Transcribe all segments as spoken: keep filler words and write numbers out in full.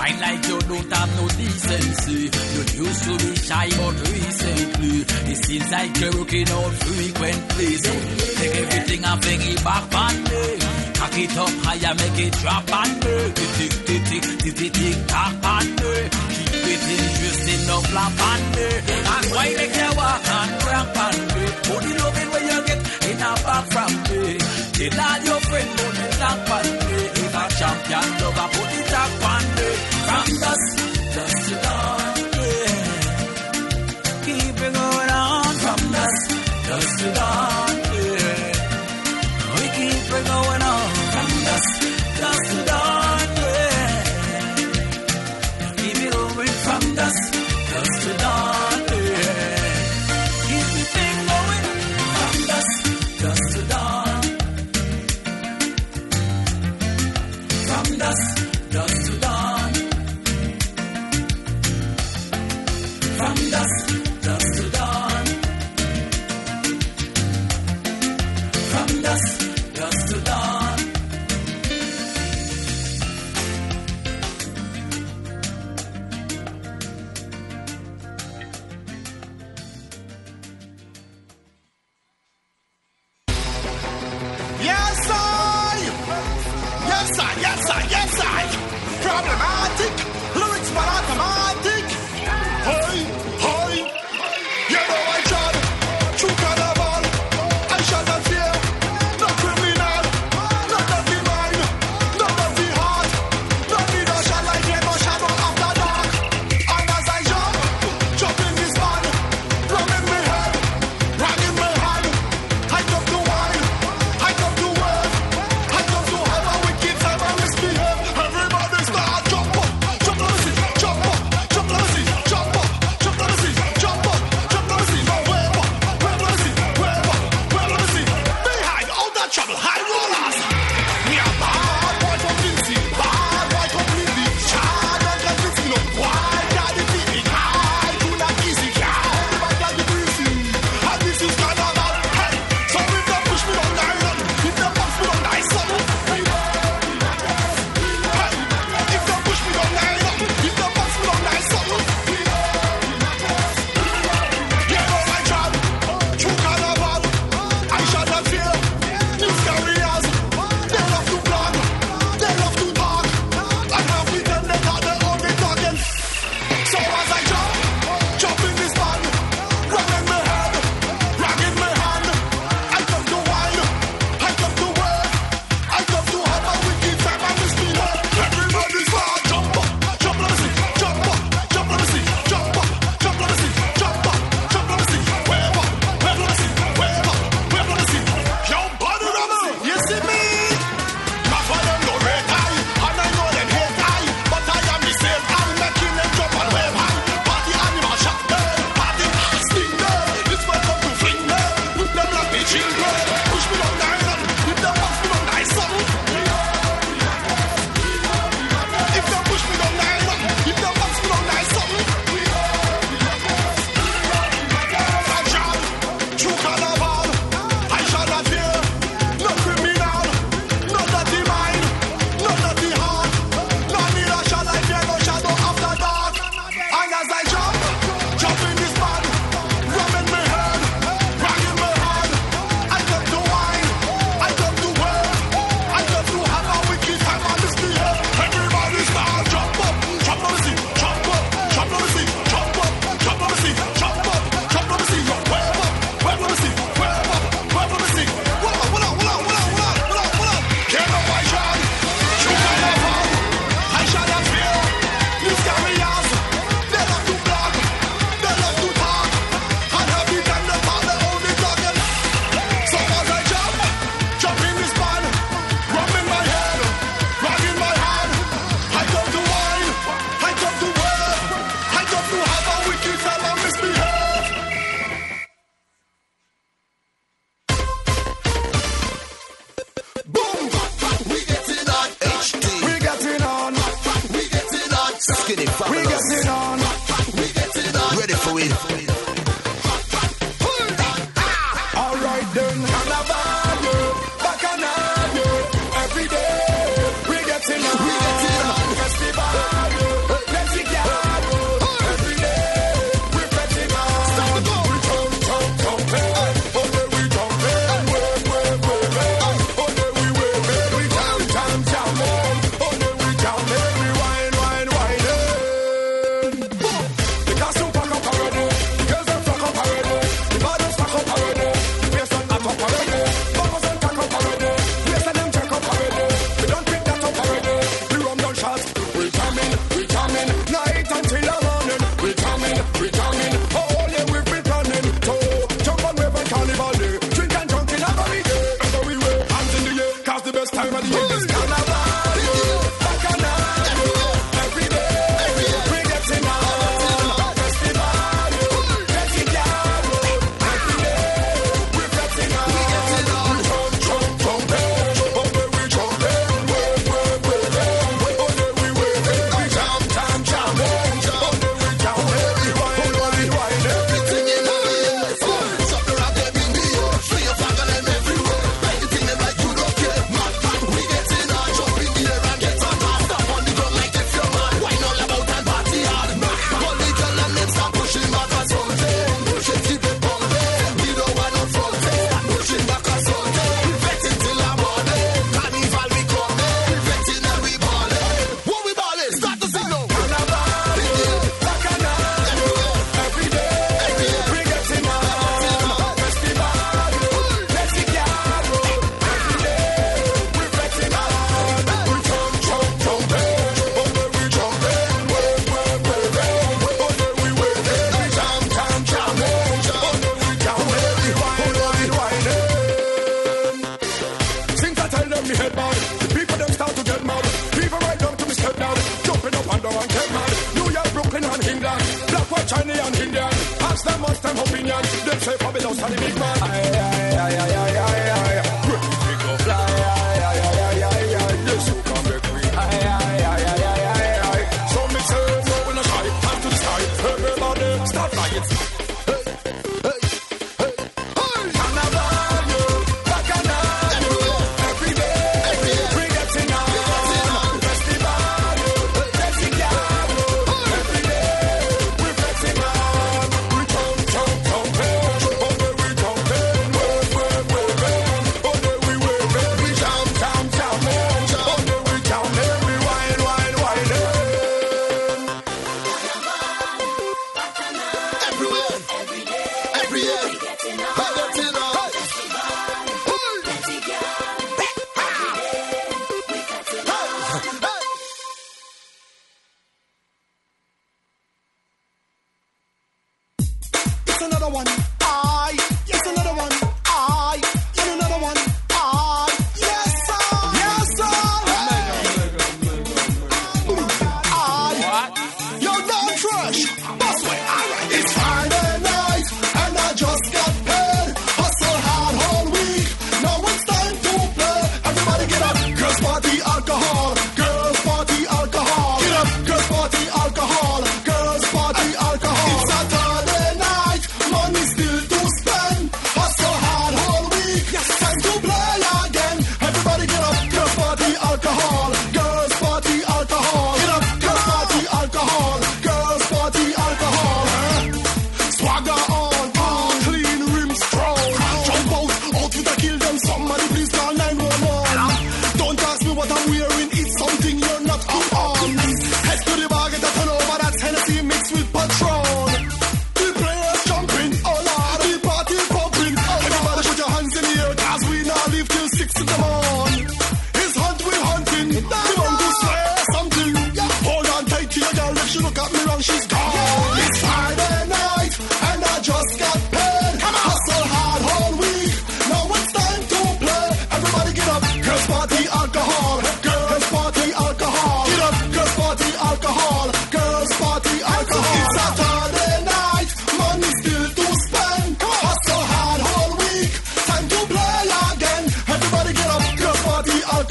Fine like you don't have no decency. You used to be shy, but recently it seems like you're working out frequently. So take everything and bring it back on me. Cock it up higher, make it drop on me. Tick tick tick tick tick tick tick tock on me. Keep it interesting, no flap on me. And why make you walk and cramp on me? Put the loving where you get in a back from me. Tell all your friends put the tap on me. If a champion lover put the tap on me. From dusk, dusk to dawn, yeah. Keep it going on. From dusk, dusk to dawn, yeah. We keep it going on. From dusk, dusk to dawn, yeah. Keep it going from dusk, dusk to dawn, yeah. Keep the thing going from dusk, dusk to dawn. From dusk, dusk to dawn. From dusk, dusk to dawn. From dusk, dusk to dawn. Yes, I. Yes, I. Yes, I. Yes, I. Problematic. Lyrics for automatic. Hey, hey. You know I tried. True carnival. I shall not fear. No criminal. No dirty mind. No dirty heart. No need no shall I get no shadow after dark. And as I jump, jump in this man. Rum in my head. Rang in my hand. I come to wine. I come to work. I come to have a wicked time and misbehave. Everybody start jump up. Jump on the seat. Jump up. Jump on the seat. Jump up. Jump on the seat. Jump up. Jump on the seat. No, wave up. Wave on the seat. Wave up. Wave on the seat. Behind all that trouble. High rollers. Me a bad boy from Vinci. Bad boy completely. Child and convince me no. Why got it beating? I do not easy. Everybody got the greasy. And this is carnival. Hey, so if they push me down the island, if they box me down the island, hey, if they push me down the island, if they box me down the island, you know my job. True carnival, I shall not fear. News carriers, they love to blog, they love to talk, and half the time they got their own they talking. So as I jump, jump in this band, rang in my head, rang in my hand. I come to wine, I come to work, I come to have a wicked time and misbehave. Everybody start jump up, jump on the seat, jump up, jump on the seat, jump up, jump on the seat, jump up, jump on the seat, wave up, wave on the seat, wave up, wave on the seat. Yo, body rubber, you see me? Not for them no red eye, and I know them hate eye, but I am the same. I'm making them jump and wave high. Party animal shot there, party sting there. This man come to fling there, with them like the children. Push me down the island, with them box me down the island. If they push me down the island, if they box me down the island. Fragile, true carnival, I shall not fear. No criminal, no dirty mind, no dirty heart. No need a shall I fear, no shadow after dark. And as I jump, jump in this band, rum in my head, rang in my hand. I come to wine, I come to work, I come to have a wicked time and misbehave. Everybody start jump up, jump on the seat, jump up, jump on the seat, jump up, jump on the seat, jump up, jump on the seat, yo, wave up, wave on the seat, wave up, wave on the seat. What up, what up, what up, what up, what up, what up, what up? Get up, I shall, true carnival, I shall not fear. News carriers, they love to blog, they love to talk, and every time they call, they only talking. So as I jump, jump in this band, rum in my head, rang in my hand. I come to wine, I come to work, I come to have a wicked time and misbehave. Boom, we getting on, H D, we getting on, we getting on, Skinny we fabulous. getting on, we getting on. Ready for it. All right then, carnival, yeah, bacchanal, yeah, every day we getting on, we getting on, festival, yeah, man down and get mad. New York, Brooklyn and England, black, white, Chinese and Indian. Ask them what's them opinion. Them say Fabulous and the big man. Aye, aye, aye, aye, aye, aye, aye. Ready to go fly. Aye, aye, aye, aye, aye, aye. Yes, you can make me. Aye, aye, aye, aye, aye, aye, aye. So me say, no, we no shy. Hand to the sky. Everybody, start flying.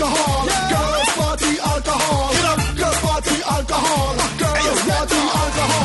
Alcohol, girls party, alcohol, girls party, alcohol.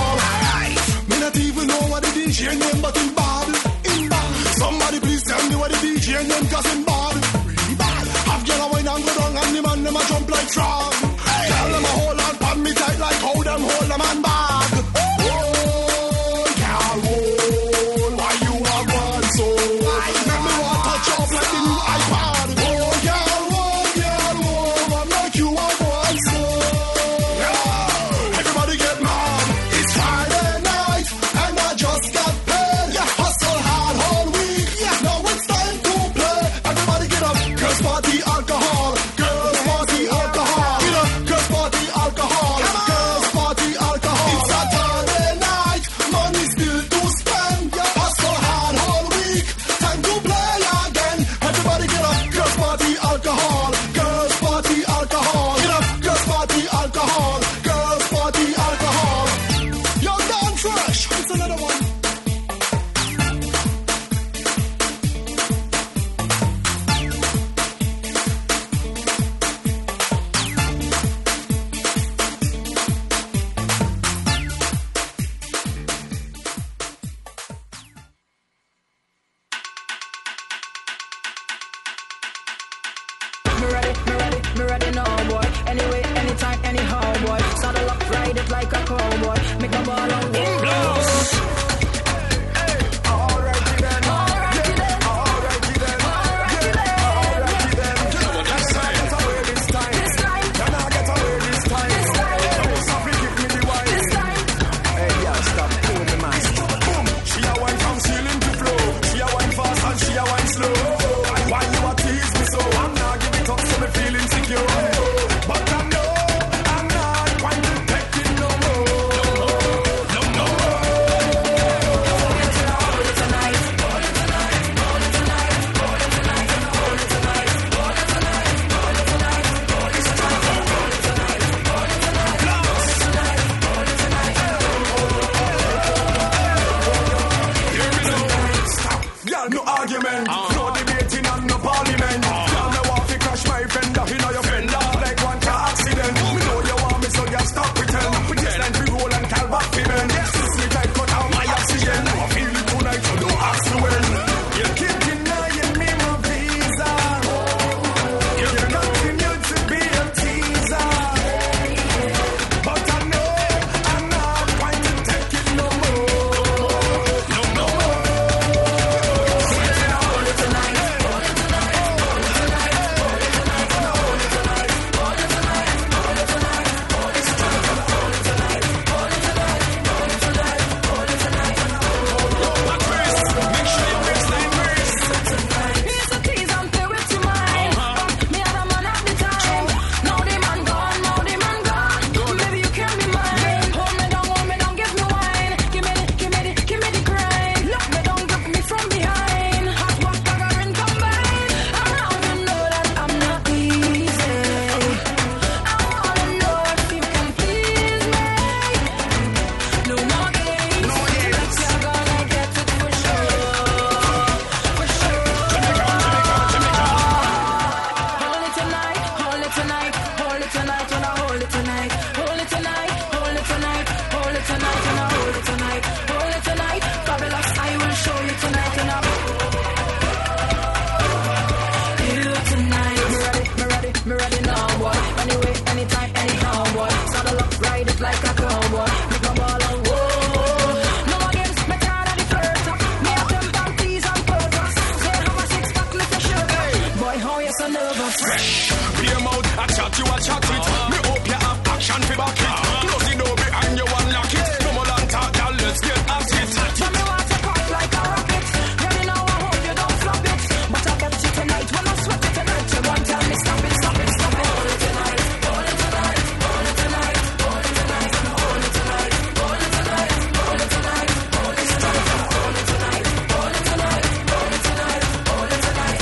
it like a cowboy. Make a ball and whoa. No against me tired of the flirt. Me have them panties on purpose. Say how a six pack lift your shirt. Boy, how you so nervous? Fresh, be a mouth, I chat you a chat it. Me hope you have action for back it. Close the door behind you and lock it. No more long talk, girl, let's get at it. Tell me what to pop like a rocket. Girl, you know I hope you don't flop it. But I bet you tonight when I sweat it tonight. You won't tell me stop it, stop it, stop it. Hold it tonight, hold it tonight, hold it tonight, hold it tonight, hold it tonight, hold it tonight, hold it tonight, hold it tonight, hold it tonight, hold it tonight, hold it tonight, hold it tonight,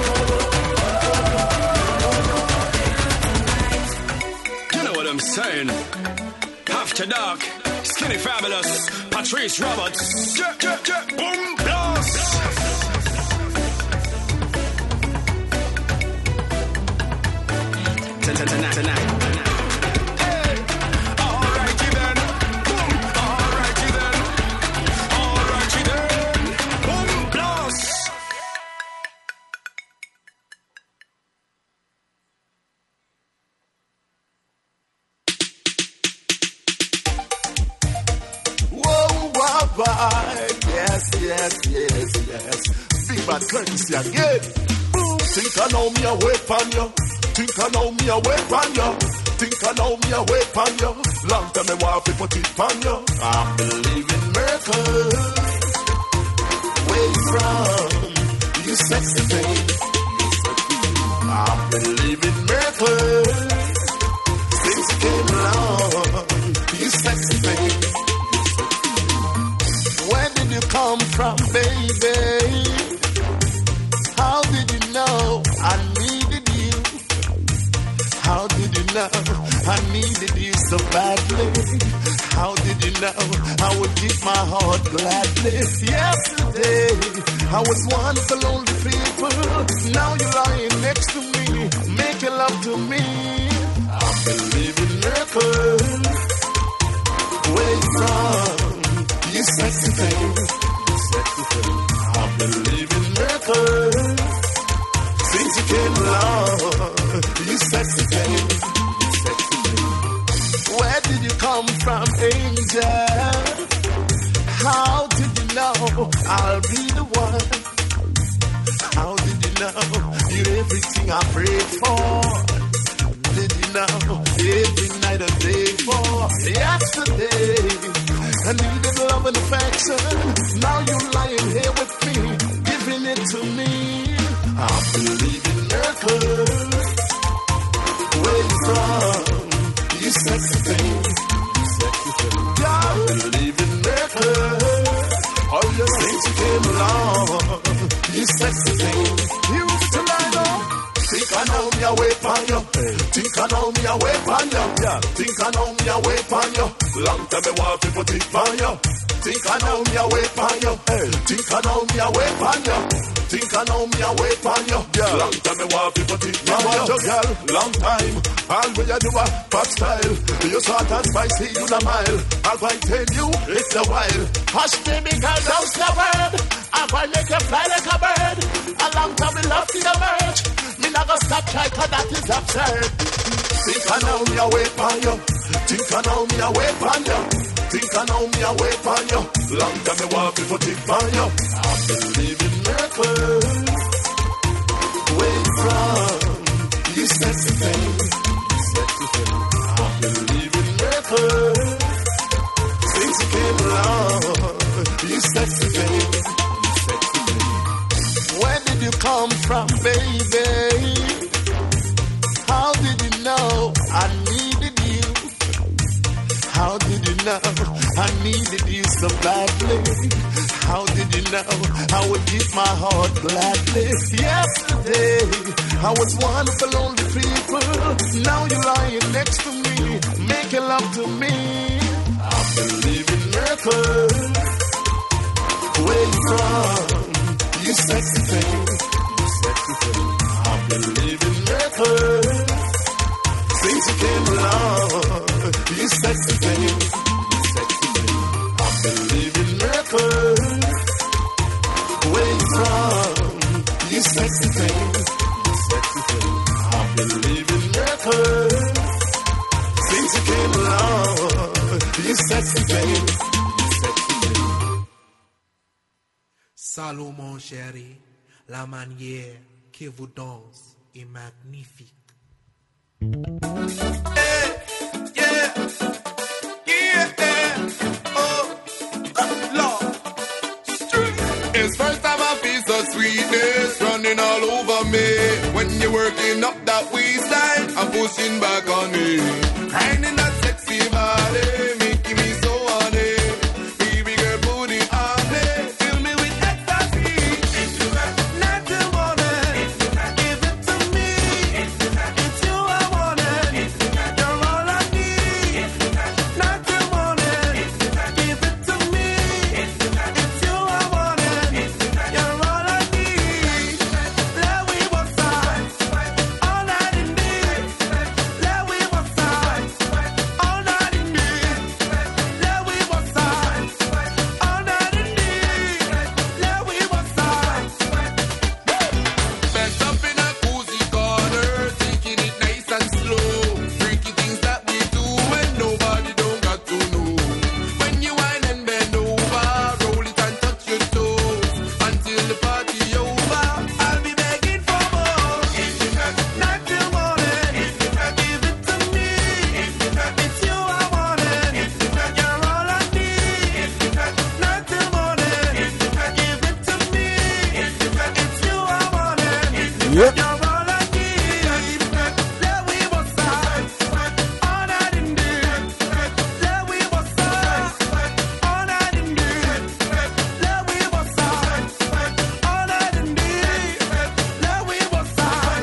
hold it tonight. You know what I'm saying? After dark, skinny fabulous, Patrice Roberts, yeah, yeah, yeah, boom, blast. Tonight, tonight. Hey, alrighty then, boom, alrighty then, alrighty then, boom, blast. Whoa, why, why? Yes, yes, yes, yes. Big bad courtesy again. Boom, think I know me away from you. Think I know me away from you. Think I know me away from you. Long time I want to put it on you. I believe in miracles. Where you from? You sexy thing. I believe in miracles. Since you came along, you sexy thing. Where did you come from, baby? How did you know I needed you? How did you know I needed you so badly? How did you know I would give my heart gladly? Yesterday, I was one of the lonely people. Now you're lying next to me, making love to me. I believe in miracles. Where you from? You sexy thing. You sexy thing. I believe in miracles. Since you came along, you sexy thing. You sexy thing. Where did you come from, angel? How did you know I'll be the one? How did you know you're everything I prayed for? Did you know every night and day for yesterday? I needed love and affection. Now you're lying here with me, giving it to me. I believe in miracles. Where you from? You sexy thing. You sexy thing. I believe in miracles. Oh, you since you came along. You sexy thing. You used to lie down. Think I know me away from you. Think I know me away from you. Yeah. Think I know me away from you. Long time I want to put it on you. Think I know me away from you. Think I know me away from you. Think I know me away from you. Yeah. Long time I want to put it on you. You girl, long time. All we do a pop style. You sort and spicy, you the mile. I'll going tell you it's a while. Hush baby girl, don't the word. I'm going to make you fly like a bird. A long time we love to emerge. Me not gonna stop trying, cause that is absurd. Think I know me away from you. Think I know me away from you. Think I know me away from you. Long time I want to put it on you. I believe in miracles. Where you from? You sexy thing. You sexy thing. I believe in miracles. Since you came along, you sexy thing. You sexy thing. Where did you come from, baby? How did you know I needed you? How did you know I needed you so badly? How did you know I would give my heart gladly? Yesterday, I was one of the lonely people. Now you're lying next to me, making love to me. I believe in miracles. Where you from? You sexy thing. You sexy thing. I believe in miracles. Since you came along, you sexy thing. You sexy thing. I believe in miracles. Where you from? You sexy thing. You sexy thing. I believe in miracles. Since you came along. sexy face. Salud mon chéri, la manière que vous danse est magnifique. Hey, yeah, yeah, oh, Lord. It's first time I feel so sweetness running all over me. When you're working up that waistline, I'm pushing back on me. Grinding that sexy body, making me so horny. Baby girl, put it on me. Fill me with ecstasy. Not till morning. Give it to me. It's you I wanted. You're all I need. Not till morning. Give it to me. It's you I wanted. You're all I need. Let we walk side. All night indeed. Let we walk side. All night indeed. Let we walk side. All night indeed. Let we walk side. Bent up in a cozy corner, taking it nice and slow. Freaky things that we do when nobody don't got to know. When you whine and bend over, roll it and touch your toes until the party over. I'll be begging for more. Not till morning. Give it to me. It's you I wanted. You're all I need. Not till morning. Give it to me. It's you I wanted. Yep. You're all I need. Let we walk side. All night indeed. Let we walk side. All night indeed. Let we walk side. All night indeed. Let we walk side.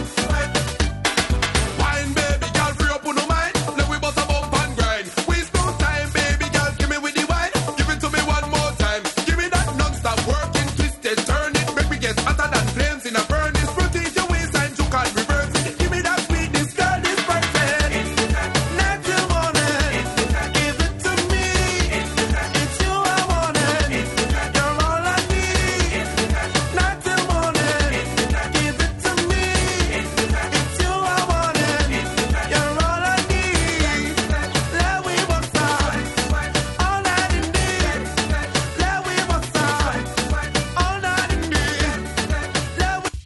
Wine, baby girl, free up on no mind. Let we bust a bump and grind. Waste no time, baby girl, give me with the wine. Give it to me one more time. Give me that non-stop working, twisted, turn it. Make me get hotter than flames in a furnace. Rotate your waist and you can't reverse it. Give me that sweetness, girl, this person. Not till morning. Give it to me. It's you I wanted. You're all I need. Not till morning. Give it to me. It's you I wanted. You're all I need. Let we walk side. All night indeed. Let we walk side. All night indeed. Let we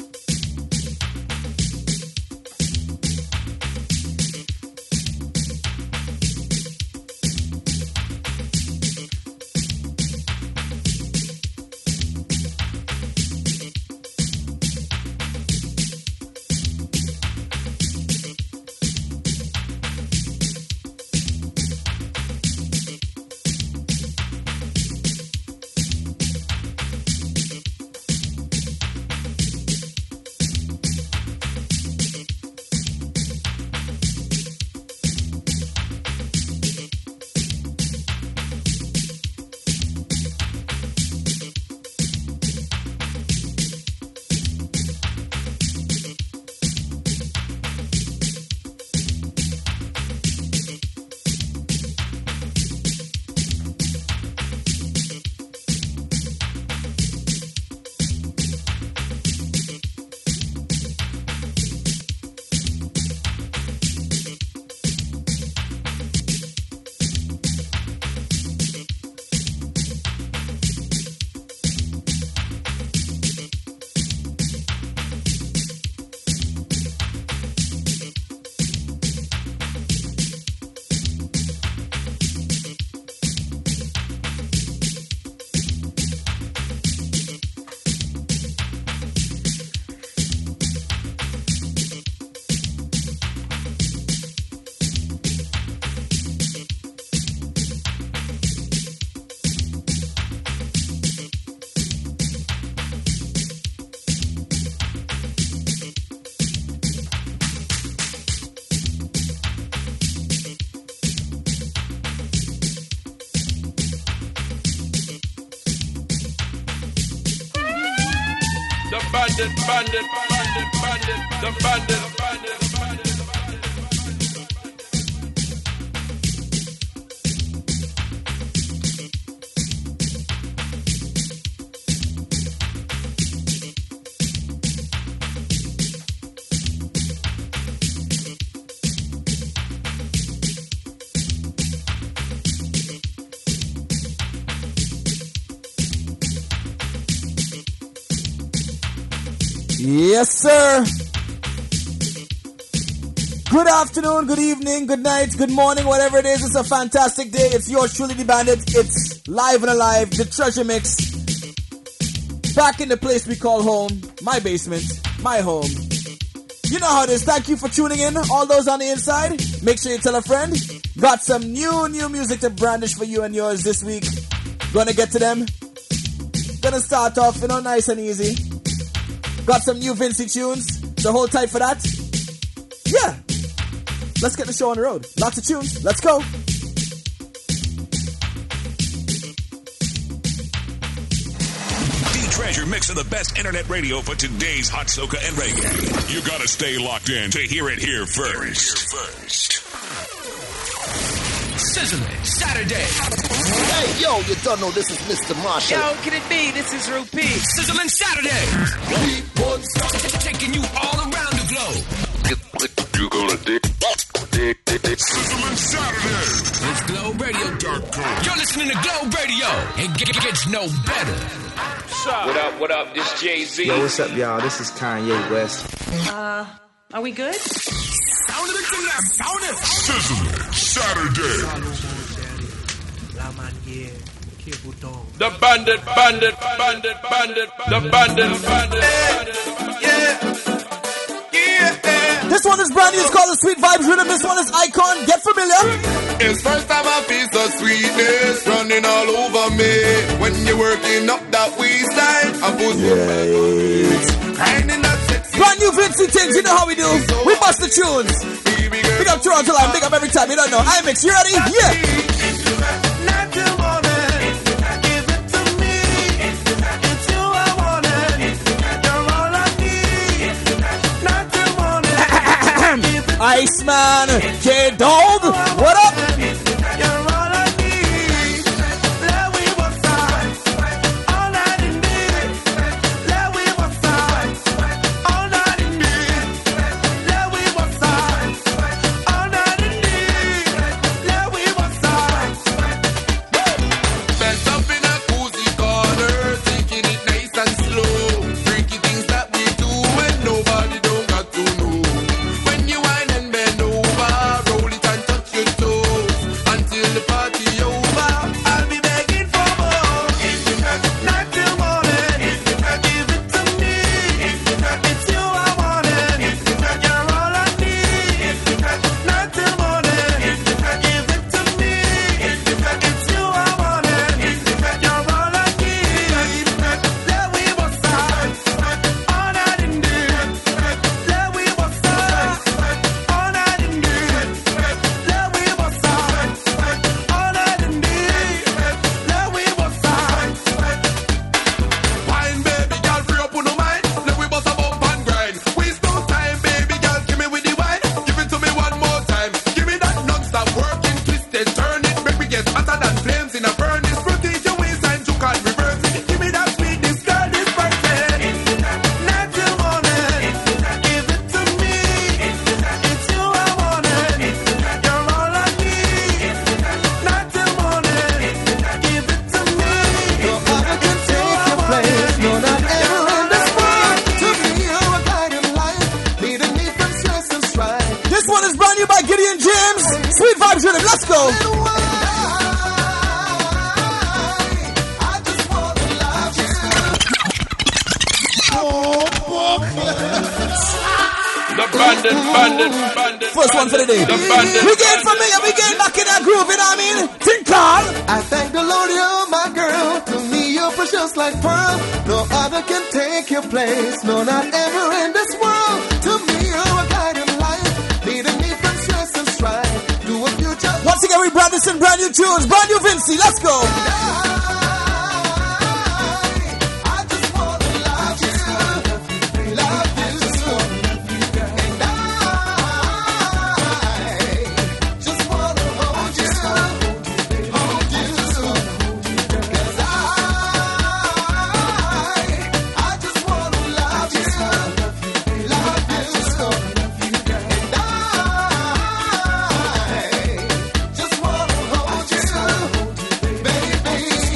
bandit, bandit, bandit, bandit, the bandit, bandit, bandit. Yes, sir. Good afternoon, good evening, good night, good morning, whatever it is. It's a fantastic day. It's yours truly, the Bandit. It's live and alive, the Treasure Mix. Back in the place we call home, my basement, my home. You know how it is. Thank you for tuning in. All those on the inside, make sure you tell a friend. Got some new, new music to brandish for you and yours this week. Gonna get to them. Gonna start off, you know, nice and easy. Got some new Vincy tunes, so hold tight for that. Yeah. Let's get the show on the road. Lots of tunes. Let's go. Treasure Mix of the best internet radio for today's hot soca and reggae. You gotta stay locked in to hear it here first. first. Sizzling Saturday. Hey, yo, you don't know this is Mister Marshall. Yo, can it be? This is Rupee. Sizzling Saturday. Taking you all around the globe. You gonna dig, dig, dig, dig. Sizzling Saturday. It's Globe Radio dot com. You're listening to Globe Radio. It gets no better. What up, what up? This Jay-Z. Yo, what's up, y'all? This is Kanye West. Uh, are we good? Sound of it, sound it. Sizzling Saturday. The bandit, bandit, bandit, bandit, the bandit, bandit, bandit. Yeah. This one is brand new. It's called the Sweet Vibes Rhythm. This one is Icon. Get familiar. It's first time I feel the sweetness running all over me. When you're working up that waistline, I put yes. grinding that sexy. Brand new Vincy things. You know how we do. We bust the tunes. Big up Toronto Line. Big up every time. You don't know. I mix. You ready? Yeah. Not till morning. Give it to me. It's you I wanted. You're all I need. Not till morning. Iceman, K-Dog, what up? You're all I need. Let we walk side. All night in me. Let we walk side. All night in me. Let we walk side. All night in me. Let we walk side. Bent up in a cozy corner, taking it nice and slow. Freaky things that we do when nobody don't got to know. When you whine and bend over, roll it and touch your toes until the party over. I'll be begging for more. Not till morning. Give it to me. It's you I wanted. You're all I need. Not till morning. Give it to me. It's you I wanted. You're all I need. Let we walk side. All night in there. Let we walk side. All night in there. Let we walk side. All night in there. Let we walk side. Wine, baby girl, free up on no mind. Let we bust a bump and grind. Waste no time, baby girl, give me with the wine. Give it to me one more time. Give me that non-stop working, twist it, turn it. Make me get hotter than flames in a furnace. Rotate your waistline, you can't reverse it. Give me that sweetness, girl, this perfect. Not till morning. Give it to me. It's you I wanted. You're all I need. Not till morning. Give it to me. No other can take your place. No, not ever in this world. To me, you're a guiding light, leading me from stress and strife. This one is brand new by Gideon James. Sweet Vibes Rhythm. Let's go. The bandit, bandit, bandit. First one for the day. The bandit. We get from me and we get back in that groove, you know what I mean? Tinkle. I thank the Lord you're my girl. To me you're precious like pearl. No other can take your place. No, not ever in this world. To me you're a guiding light, leading me from stress and strife. Do a future. Once again, we brand this in brand new tunes. Brand new Vincy. Let's go. I just wanna love you, love you so. And I just wanna hold you, hold you so. 'Cause I, I just wanna love you, love you so. And I just wanna hold you, baby.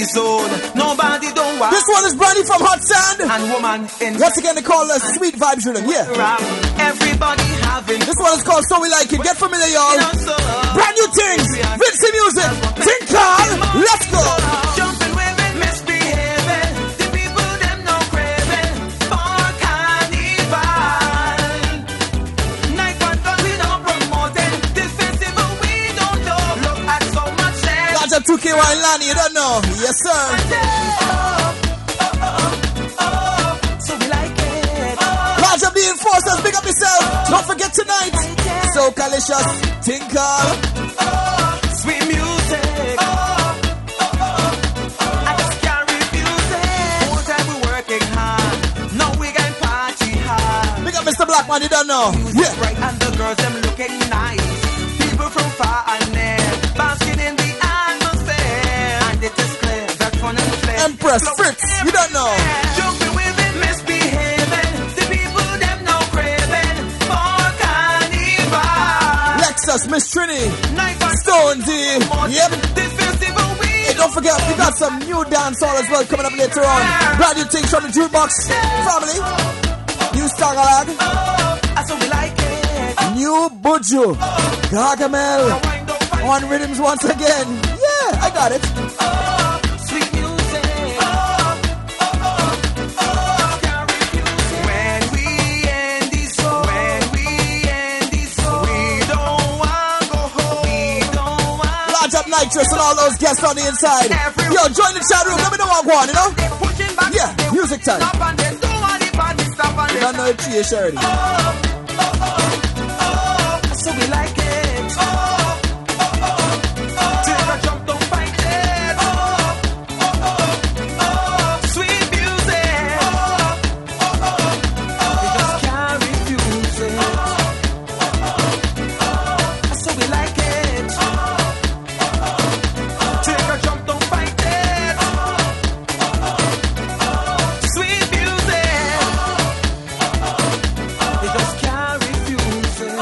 zone. Nobody don't want. This one is Brandy from Hot Sand. And woman in. Once again, they call us Sweet Vibes Rhythm. Yeah. Everybody having. This one is called So We Like It. Get familiar, y'all. You know, so, brand new things. Vincy music. Tinkal. Let's go. Jumping women misbehaving. The people them no craving for carnival. Night one but we don't promoting. This festival we don't know. Look at so much share. Got your two K Y Lani, you don't know. Yes, sir. Up the enforcers, big up yourself. Don't forget tonight. So Calicious, Tinkal, sweet music. I just can't refuse it. Whole time we working hard. Now we can party hard. Big up Mister Blackman, you don't know. Yeah. Right, and the girls them looking nice. People from far and near, basking in the atmosphere. And it is clear that fun and flair. Empress Fritz, you don't know. Jumping with it, misbehaving. The people them no craving for carnival. Lexus, Miss Trini, Stonesy. Yep. This festival we. Hey, don't forget, we got some new dancehall as well coming up later on. Brand new things from the Jukebox family. New Stagalag. I so we like it. New Buju. Gargamel. On rhythms once again. Yeah, I got it. Sweet music. When we end this show, when we end this show, we don't want to go home. We don't want. Large up Nitrous and all those guests on the inside. Yo, join the chat room. Let me know what I'm going, you know? Yeah, music time. You don't know the tree, Shirley. So we like it. Take a jump, don't fight it. Sweet music. We just can't refuse it. So we like it. Take a jump, don't fight it. Sweet music. We just can't refuse it.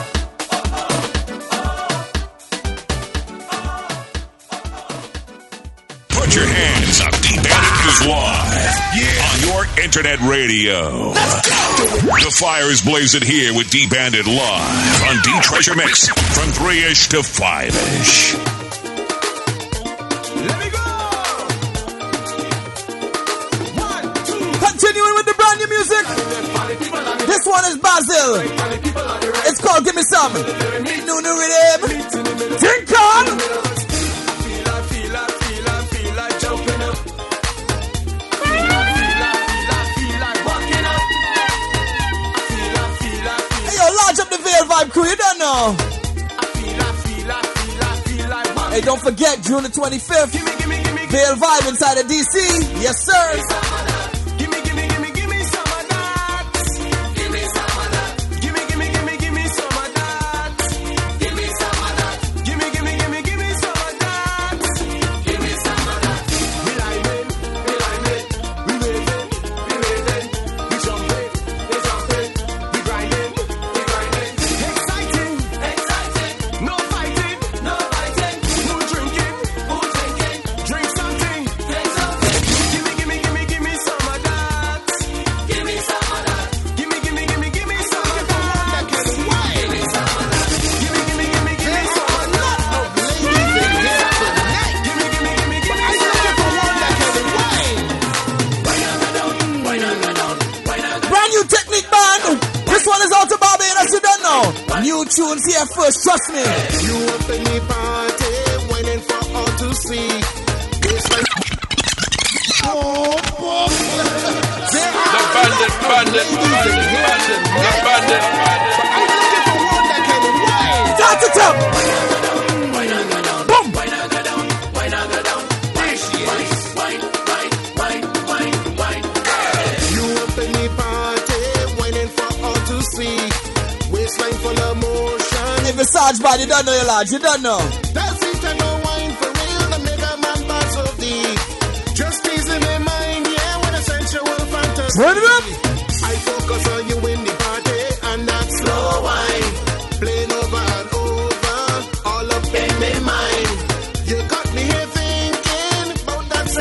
Put your hands up. D-Bandit is live on your internet radio. The fire is blazing here with D-Bandit live on D-Treasure Mix from three-ish to five-ish. Continuing with the brand new music. This one is Basil. It's called Give Me Some. New new rhythm. Tinkal. Hey, yo, large up the Veil Vibe crew. You don't know. Hey, don't forget, June the twenty-fifth. Veil Vibe inside of D C. Yes, sir. New tunes here first, trust me. You up in the party, waiting for all to see. It's like oh, oh. The bandit, bandit, bandit, bandit, the bandit, bandit. I'm looking for one that can wine. Start to top. Boom. You up in the party, waiting for all to see. Waistline full of motion. If it's Sarge bad, you don't know your lads, you don't know. That's it, I know wine for real. The mega man pass of deep. Just teasing my mind, yeah, with a sensual fantasy. Turn it up. I focus on you in the party, and that slow wine. Playing over and over, all up in my mind. You got me here thinking about that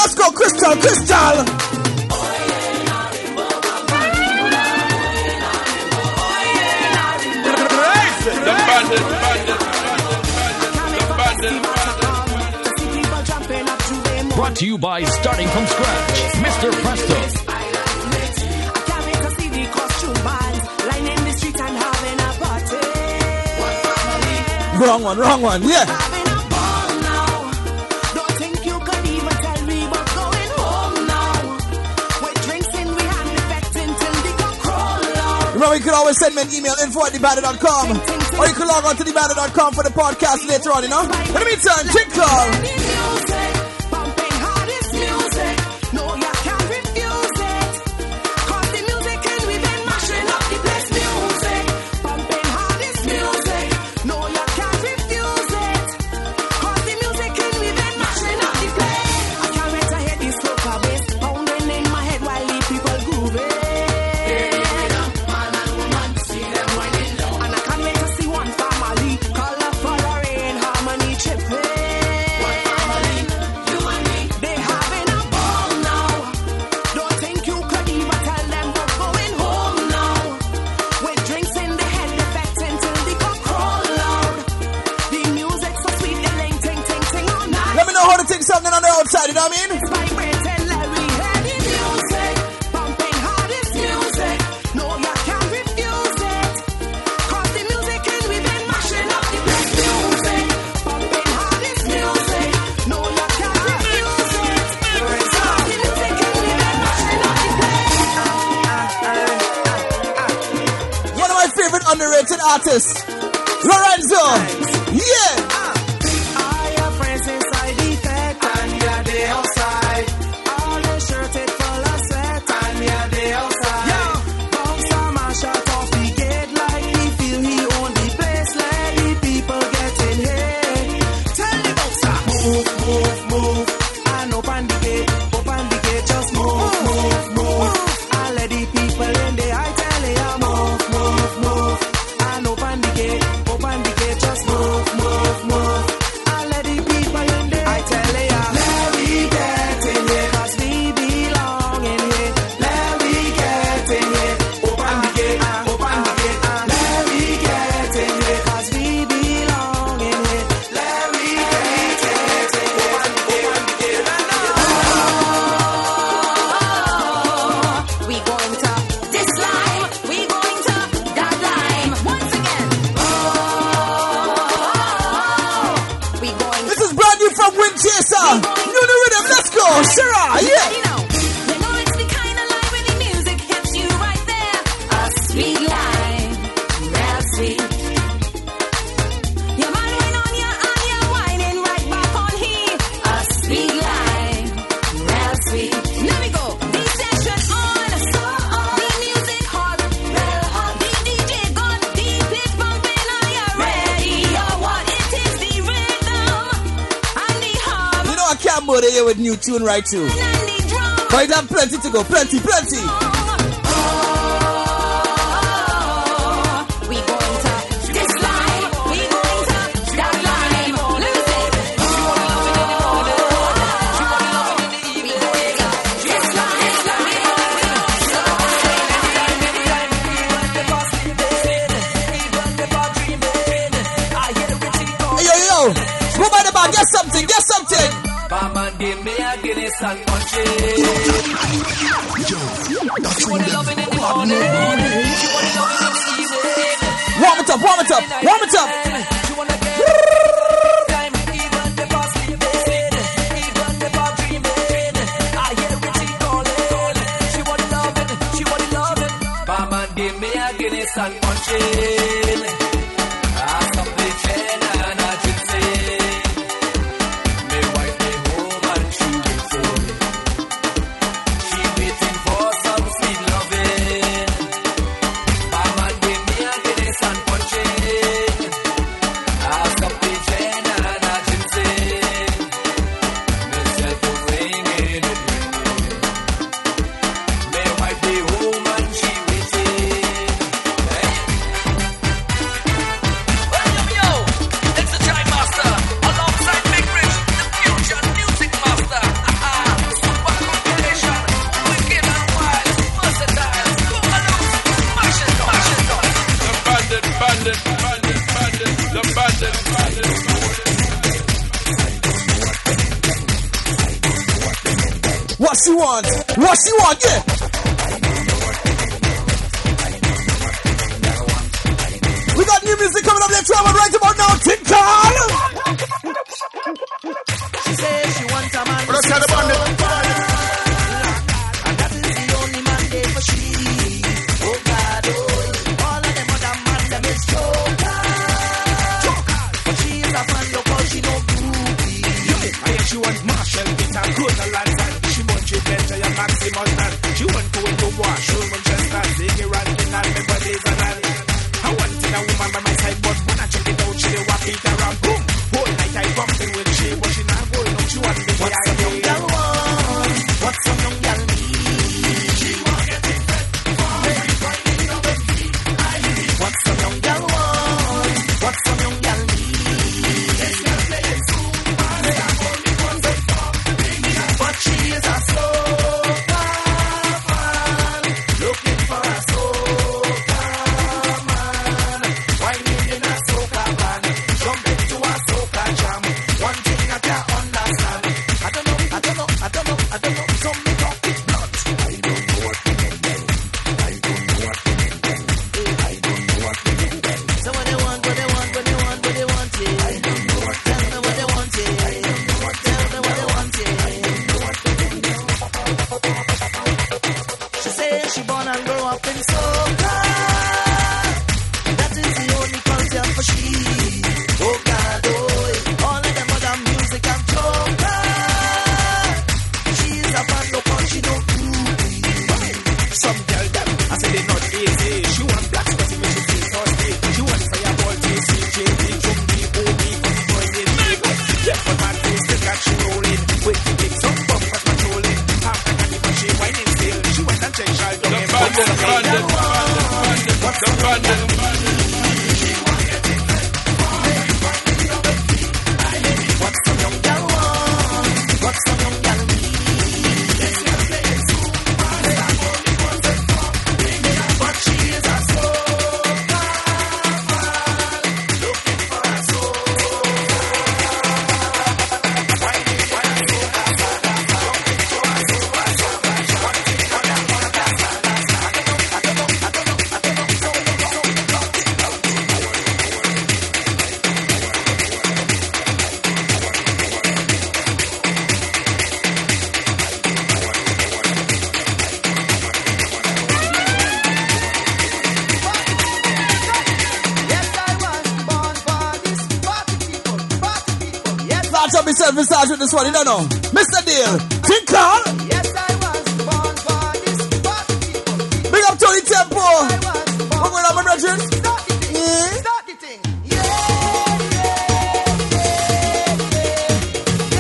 Let's go, Crystal, Crystal. The bandit, bandit, bandit, bandit. Brought to you by Starting From Scratch, Mister Presto. Wrong one, wrong one, yeah. Remember, you can always send me an email, info at the bandit dot com. Or you can log on to the bandit dot com for the podcast later on, you know? In the meantime, Tinkle. Something on the outside, you know what I mean? One of my favorite underrated artists, Lorenzo. Yeah. With new tune right too. But you have plenty to go, plenty, plenty. We going to this line, we going to that line. Let me say, she wanna love it in the morning, she wanna love it in the evening. This line, hey yo yo, go by the bar, get something, get something. Mama give me a Guinness and punch it. She want to love it in the morning. She want to love it in the evening. Warm it up, warm it up, warm it up. She want to get time, even the boss sleeping, even the bar dreaming. I hear Richie calling. She want to love it, she want to love it. Mama give me a Guinness and punch it. I stop the chain and I just say. What she want? What she want? Yeah. We got new music coming up later on right about now. Tinkal. She says she wants a man. Let's have the band. And that is the only man there for she. Oh God, oh. All of them other man, them is joker. But she is a fan, look how she no groupie. I hear she wants Marshall, get her good a lot time. She wants you better, your maximum stand. She wants to go wash, room and just stand. Ziggy ranking and the bodies and all. I want to know woman by my side, but when I check it out, she dey walk it around. Boom! Whole night I bumping with she, but she not going up. She want the What's some young girl want? What's some young girl need? She want get it fed for everybody in the feet. I need. What's some young girl want? What's some young girl need? This girl playing super, they are only one way for big girl, but she is a soca fan, looking for a soca man, whining in a soca van, jumping to a soca jam. One thing I can't understand. I don't know, I don't know, I don't know, I don't know. Some me talk it blunt. I don't know what to do. I don't know what to do. I don't know what to do. So what they want, what they want, what they want, what they want it. I don't know what. Tell me what they want it. I don't know what. Tell me what they want it. I don't know what to do. She says she born and grow up in soca. That is the only culture for she. Oh God, oh, all of them other music and joker. She is a fan, look how she no groupie. some girl them. I say they not easy. She want black spotty when she feels thirsty. She want fireball, T C, J P, Chumbi, O B, boy, they leave. Yeah, but my face, they got she rolling. Wait to get some bump, but controlling. Half the candy, but she whining still. She went and checked child. The bandit, the bandit, the bandit, the bandit. What's some young girl want? What's some young girl need? But she is a soca fan, looking for a soca. Whining for a soca fan, looking for a soca fan. One thing I don't understand. I don't know, I don't know, I don't know, I don't know. So, Start up yourself and start with this one, you don't know. Mister Deal, Tinkal. Yes, I was born for this party people. Big up Tony Tempo. What going on, my brethren? Start the thing. Yeah. Start the thing. Yeah, yeah, yeah, yeah,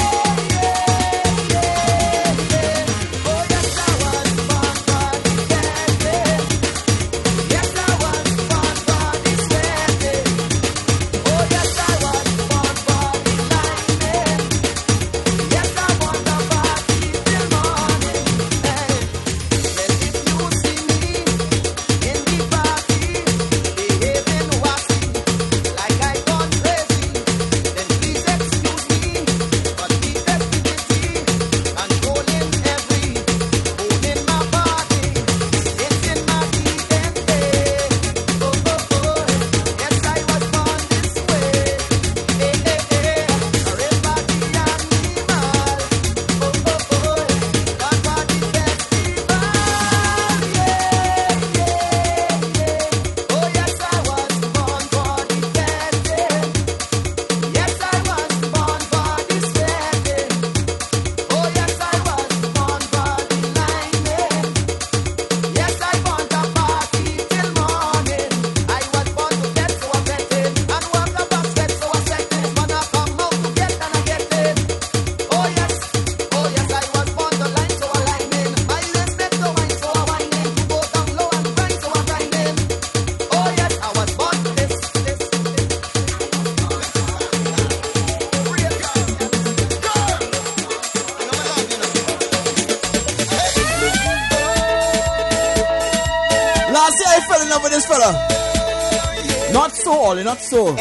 yeah, yeah. Oh, yes, I was born for this birthday. Yes, I was born for this birthday. Oh, yes, I was born for this lightning. Yes, I want the party till morning. Hey, well, if you see me in the party, behaving wacky, like I gone crazy, then please excuse me. But the festivity, controlling every bone in my body, it's in my D N A. Oh, oh, oh, yes, I was born this way. Hey, hey, hey, everybody animal. Oh, oh, oh, God for the festival. Yeah, yeah, yeah. Oh, yes, I was born for the birthday. Yes, I was born for this birthday. Oh, yes, I was born for the lightning. Yes, I want a party till morning. I was born to get so affected, and walk a basket so affected. When I come out to get and I get it. Oh yes, oh yes, I was born to line so a lining. My legs make so wine so a whining. To go down low and grind so a grinding. Oh yes, I was born to this, this, this. Real Last year I fell in love with this fella. Not so, Ollie, not so.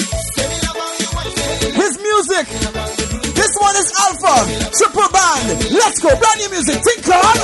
His music. This one is Alpha, Triple Band, Let's go, brand new music, think on.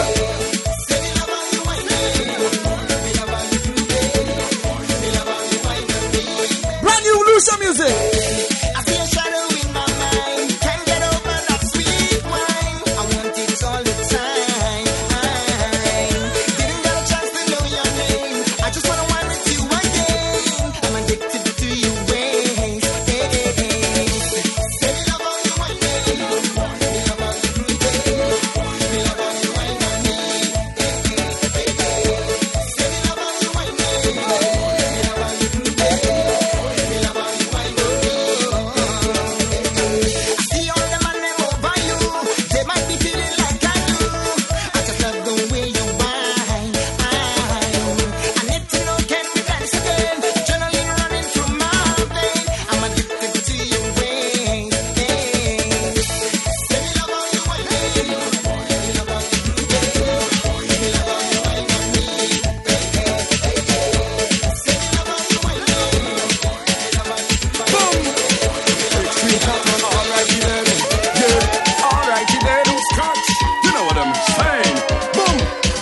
Brand new Lucia music. I see a shadow in my mind. Can't get over that sweet wine. I want it all the time. Didn't get a chance to know your name. I just wanna wine with you again. I'm addicted to your ways. Hey, hey, hey. Say me love how you wine me. Me love how you groove me. Me love how you wine on me. Hey, hey, hey, hey. Say me love how you wine me. Me love how you groove me. Me love how you wine on me. I see all the man them over you. They might be feeling like I do. I just love the way you whine. I need to know, can we dance again? Adrenaline running through my veins. I'm addicted to your ways. Hey. Say me love how you whine me. Me love how you groove me. Me love how you whine on me. Hey, hey, hey, hey. Say me love how you whine me. Me love how you Boom! Extreme Catman, alrighty then. Yeah, alrighty then. Scotch, you know what I'm saying. Boom!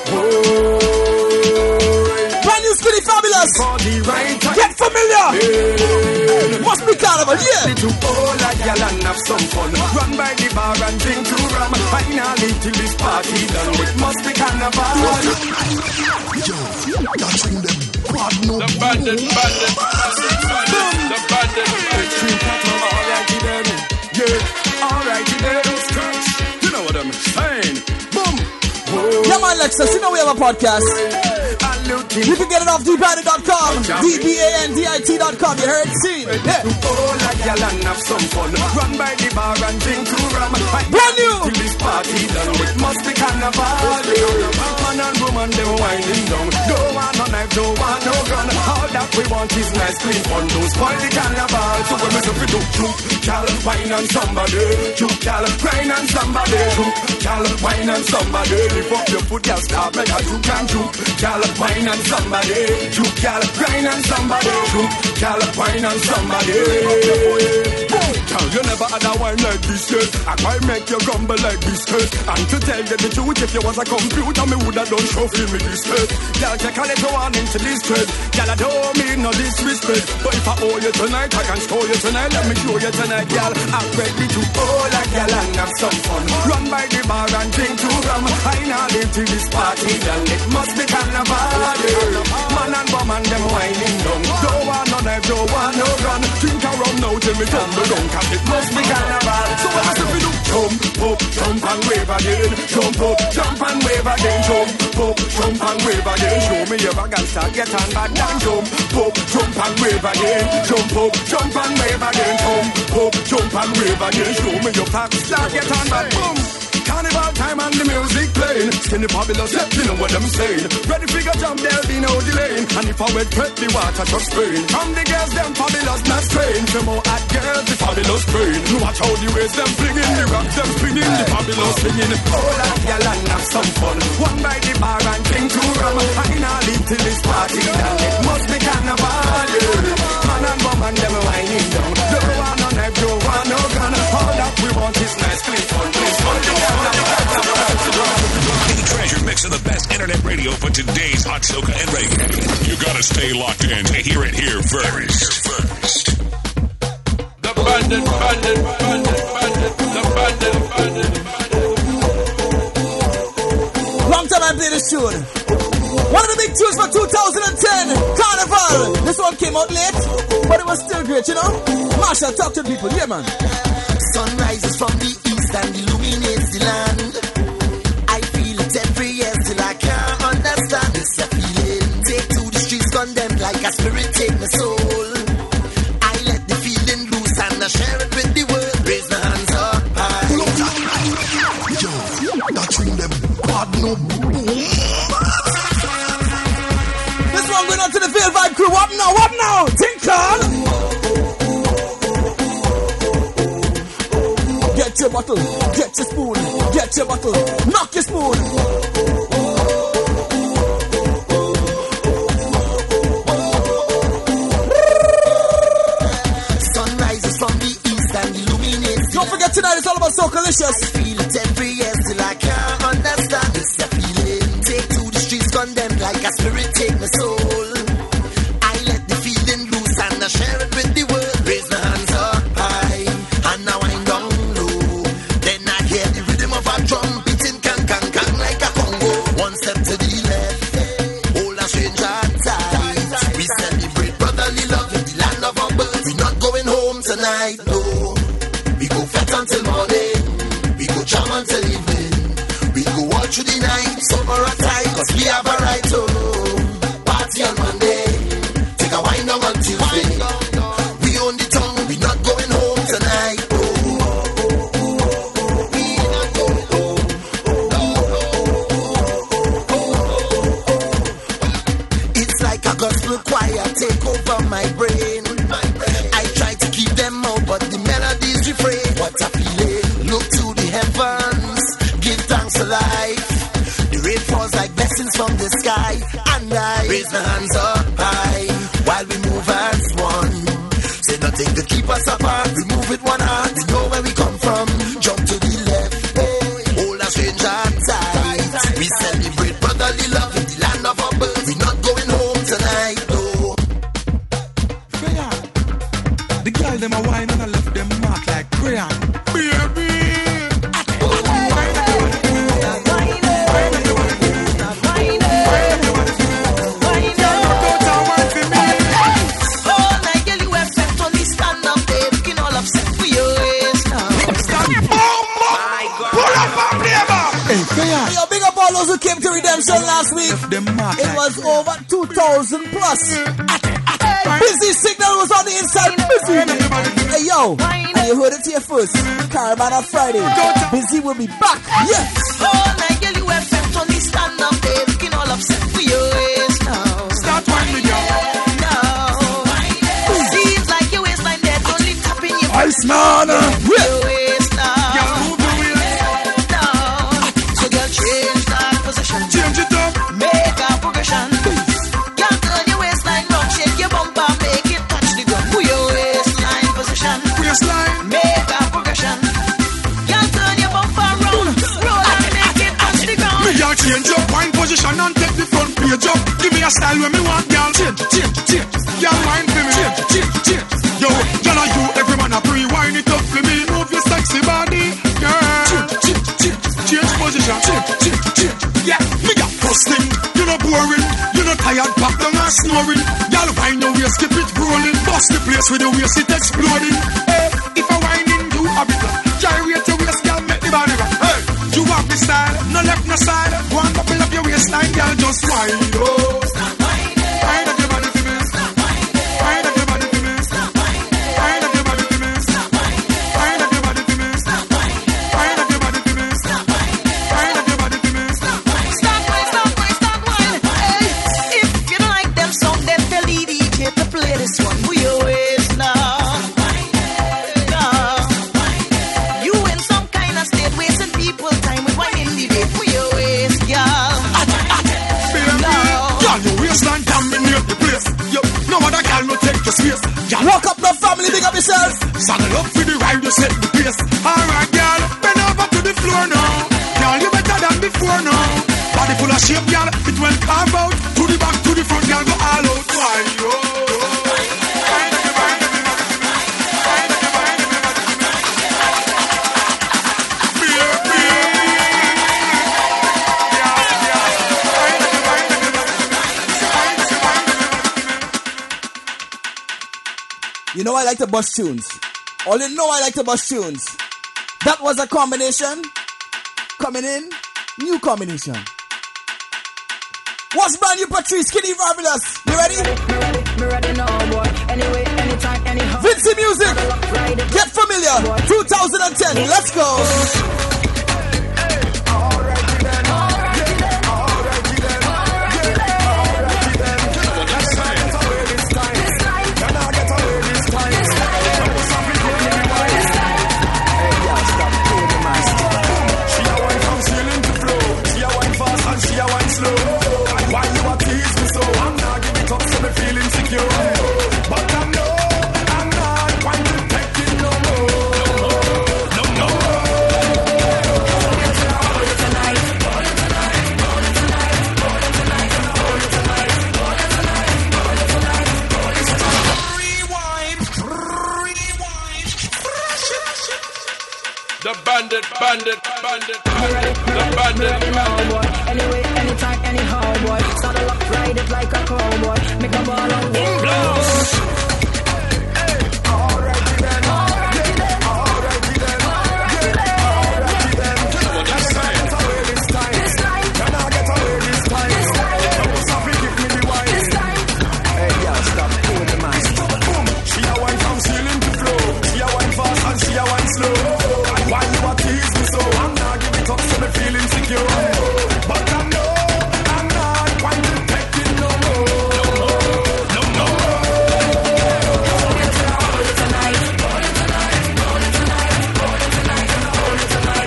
Boy. Brand new Skinny Fabulous. For the right time. Get familiar. Must be carnival, yeah. To all like y'all and have some fun. Run by the bar and drink to rum. Finally till this party done. It must be carnival. Yo, touching them. God no. The bandit, bandit, bandit, bandit, the bandit. Extreme Catman, alrighty then. Yeah, alrighty then. Scotch, you know what I'm saying. Boom! Yeah, man, Lexus, you know we have a podcast. You can get it off D bandit dot com. D B A N D I T dot com. You heard? See? Yeah. Oh, like y'all and have some fun. Run by the bar and drink to rum. Brand new. Till this party done. It must be carnival. Man and woman, them winding down. Don't want no knife, don't want no gun. All that we want is nice, clean fun. Don't spoil the carnival. So when we do we do juke, gal, wine on somebody. Juke, gal, grind on somebody. Juke, gal, wine on somebody. Lift up your foot, gal, start make a juke and juke. Gal, wine on somebody. Juke, gal, grind on somebody. Juke, gal, wine on somebody. Gal, you never had a wine like this yet. I might make you grumble like this yet. And to tell you the truth, if you was a computer, me woulda done shuffle me this yet. Gal, take a little warning to this trade. Gal, I don't mean no disrespect, but if I owe you tonight, I can show you tonight. Let me show you tonight, gal. I'm ready to hold a gal and have some fun. Run by the bar and drink to rum. I now live till this party done. It must be carnival. Man and woman, them whining down. Don't want no knife, don't want no gun. Drink a rum now till me tumble down, 'cause it must be carnival. So when I say we do jump up, jump and wave again. Jump up, jump and wave again. Jump up, jump and wave again. Show me your gangster, get on back down. Jump up, jump and wave again. Jump up, jump and wave again. Jump up, jump and wave again. Show me your pack, start get on back. Boom. Carnival time and the music playing. Skinny Fabulous, yeah, you know what I'm saying. Ready figure jump, there'll be no delaying. And if I wet prep the water just spraying. From the girls, them fabulous, not spraying. Some more hot girls, the fabulous spraying. Watch how the waist, them flinging. The rocks, them spinning. The fabulous singing. All that y'all and have some fun. One by the bar and drink to rum. I now live till this party done. It must be carnival, yeah. Man and woman, them whining down. Don't want no knife, don't want no gun. All that we want is nice, clean fun. Please fun. The Treasure Mix of the best internet radio for today's hot soca and reggae. You gotta stay locked in to hear it here first. First. The bandit, bandit, bandit, bandit, the bandit, bandit, bandit. Long time I play this tune. One of the big tunes for two thousand ten, Carnival. This one came out late, but it was still great, you know? Marshall, talk to people. Yeah, man. Sun rises from the east and illuminates the land. I feel it every year till I can't understand. It's a feeling. Take to the streets, condemned like a spirit, take my soul. I let the feeling loose and I share it with the world. Raise my hands up high. Yo, touching them. God no. This one going on to the Field Vibe crew. What now? What now? Think on. Get your bottle, get your spoon, get your bottle, knock your spoon. Sun rises from the east and illuminates. Don't forget tonight it's all about Soca Licious. I feel it every year till I can't like a spirit take my soul. I let the feeling loose and I share it with the world. Raise my hands up high and now I'm down low. Then I hear the rhythm of a drum beating can can can like a Congo. One step to the left, hold a stranger tight. We celebrate brotherly love in the land of our birth. We not going home tonight, no. We go fat until morning, we go jam until evening. We go all through the night, summer or tight, cause we have a right to party on Monday, take a wine down on Tuesday. We own the tongue, we not going home tonight. Oh, oh, oh, oh, oh, we not going home. Oh, oh, oh, oh, oh. It's like a gospel choir take over my brain. I try to keep them out, but the melodies refrain. What a feeling, look to the heavens, give thanks to life. The rain falls like blessings from the sky, and I raise my hands up high while we move as one. Say nothing could keep us apart. We move with one heart. We know where we come from. Jump to the left, hold a stranger tight. We celebrate brotherly love in the land of our birth. We not going home tonight, though. The girl them a wine and I left them mark like crayon. Baby. Yo, big up all those who came to Redemption last week. It was over two thousand plus. Busy Signal was on the inside. Busy. Hey, yo, and you heard it here first. Caravan on Friday. Busy will be back. Yes. All night, girl, you have felt on the stand up there, looking all upset for your waist now. Start whining, girl. No. Seems like your waistline there, only tapping your Ice man. Your waist now. Change it up. Make a progression. Can't turn your waistline round, shake your bumper, make it touch the ground. Put your waistline position. Waistline. Make a progression. Can't turn your bumper round, roll and make it touch the ground. Me y'all change up wine position and take the front page up. Give me a style when me want, y'all. Change, change, change. Y'all wine for me. Change, change, change. Yo, y'all are you, every man a pre-wine it up for me. Move your sexy body, girl. Change, change, change. Change position. Change, change, change. Yeah, me got hustling, you know boring, you know tired, back down and snoring. Y'all wine your waist, keep it rolling, bust the place with the waist, it exploding. Hey, if I whining, you have it like gyrate your waist, girl, make the body rock. Hey, you have the style, no left, no side. Go and bubble up your waistline, girl, just whine, oh. Stop whining. Whine up your body for me. Stop whining. Whine up your body for me. Stop whining. Whine up your body for me. Stop whining. Whine up your body for me. Stop whining. Whine up your body for me. Stop whining. Whine up your body for me. Stop whining. Stop whining, stop whining, stop whining. Hey, if you don't like them song, then tell the D J to play this one. Move your waist now. You in some kind of state, wasting people's time with whining the day. Move your waist, girl. Girl, your waistline dominate the place. Yo, no other girl no take your space. Walk up the family, big up yourself. Saddle up for the ride, you set the pace. Alright, girl, bend over to the floor now. Girl, you better than before now. Body full of shape, girl, it will carve out. To the back, to the front, girl, go all out. Why, yo? You know I like the bus tunes. All you know I like the bus tunes. That was a combination. Coming in, new combination. What's brand new, Patrice? Skinny Fabulous? You ready? Me ready now, boy. Anyway, anytime, anyhow. Vincy Music. Get familiar. two thousand ten. Let's go. bandit, bandit, bandit, bandit, the bandit, bandit. Anyway, anytime, anyhow, boy. Start a lock, ride it like a cowboy. Make a ball on the blows. Alrighty then, alrighty then, alrighty then, alrighty then, alrighty then. Can I get away this time? This time. Can I get away this time? This time. Sophie, give me the wine. This time. Hey, yeah, stop. Pull the man. Boom. She a wine from ceiling to floor. She a wine fast and she a wine slow. Why you a tease me so? I'm not giving it up, so me feel insecure. But I know I'm not going to take it no more. No more, no more. Tonight, tonight, tonight, tonight, tonight, tonight,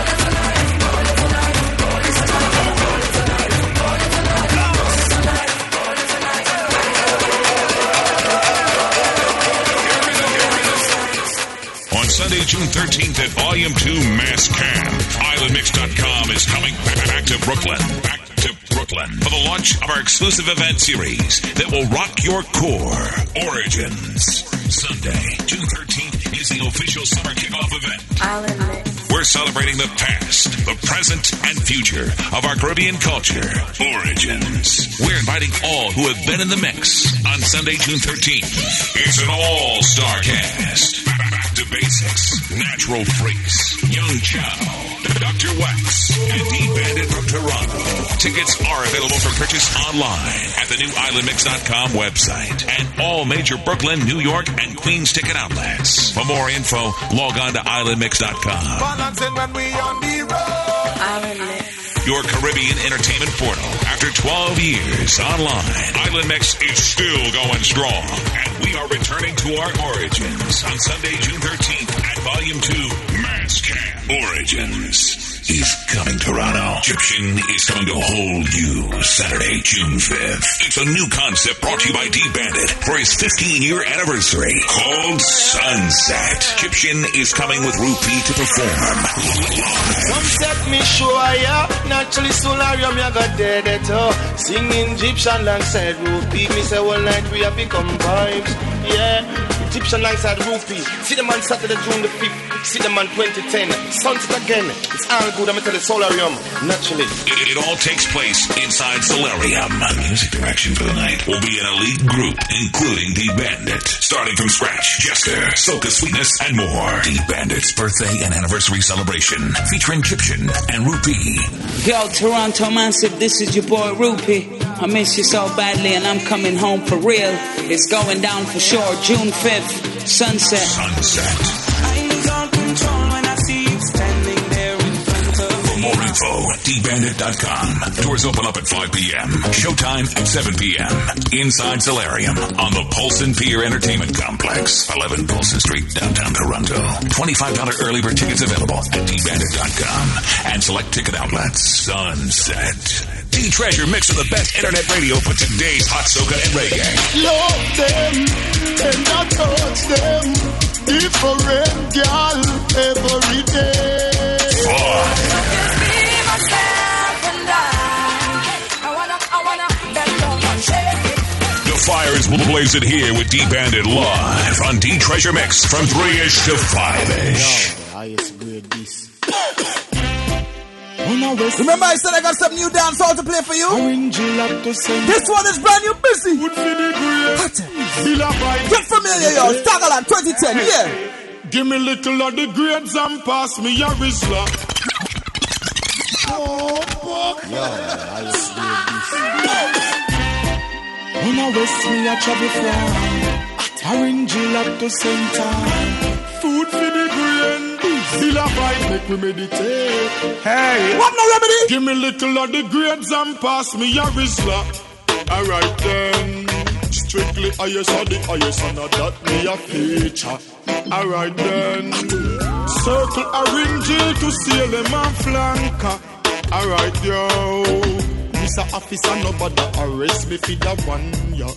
On Sunday, June thirteenth at Volume two Mass Camp, Island Mix dot com is coming back to Brooklyn. Back to Brooklyn for the launch of our exclusive event series that will rock your core. Origins. Sunday, June thirteenth is the official summer kickoff event. Island Mix. We're celebrating the past, the present, and future of our Caribbean culture. Origins. We're inviting all who have been in the mix on Sunday, June thirteenth. It's an all-star cast. Back to Basics, Natural Freaks, Young Chow, Doctor Wax, and D-Bandit from Toronto. Tickets are available for purchase online at the new Island Mix dot com website and all major Brooklyn, New York, and Queens ticket outlets. For more info, log on to Island Mix dot com. When we on the road. Island Mix. Your Caribbean entertainment portal. After twelve years online, Island Mix is still going strong. And we are returning to our origins on Sunday, June thirteenth at Volume two, Mass Camp. Origins is coming to Toronto. Egyptian is coming to hold you Saturday, June fifth. It's a new concept brought to you by D-Bandit for his fifteen-year anniversary called Sunset. Egyptian is coming with Rupee to perform. Sunset me show ya, naturally solarium ya got dead at all. Singing Egyptian alongside Rupee. Me say all night we have become vibes. Yeah, Egyptian alongside Rupee. See them on Saturday, June the fifth. See them on twenty ten. Sunset again. It's all good. I'm tell the solarium. Naturally. It, it all takes place inside Solarium. Music direction for the night will be an elite group, including D-Bandit. Starting from scratch, Jester, Soca Sweetness, and more. D-Bandit's birthday and anniversary celebration featuring Egyptian and Rupee. Yo, Toronto Massive, this is your boy Rupee. I miss you so badly and I'm coming home for real. It's going down for sure. June fifth, Sunset. Sunset. I lose all control when I see you standing there in front of For more info, D Bandit dot com. Doors open up at five p.m. Showtime at seven p.m. Inside Solarium on the Polson Pier Entertainment Complex. eleven Polson Street, downtown Toronto. twenty-five dollars early bird tickets available at D Bandit dot com. And select ticket outlets. Sunset. D-Treasure mix of the best internet radio for today's hot soca and reggae. Love them, and I touch them. Different girl every day. Just be myself and I. I wanna, I wanna, bend down and shake it. The fires will blaze it here with D-Bandit live on D-Treasure Mix from three-ish to five-ish. Yo, I used to grade this. Remember I said I got some new dance hall to play for you? This one is brand new, busy. Get familiar, yo. Stagaland twenty ten, yeah. Give me little of the grades and pass me a Rizla. Oh, fuck. Yo, I used to grade this. When I west me a travel from Orange up to center. Food for the brain. Still a vibe, make we meditate. Hey, what no remedy? Give me little of the grades and pass me a Rizla. Alright then. Strictly highest of the highest, and that me a feature. Alright then. Circle orange to seal them and flanker. Alright yo. Mister Officer, nobody arrest me for that one, yo.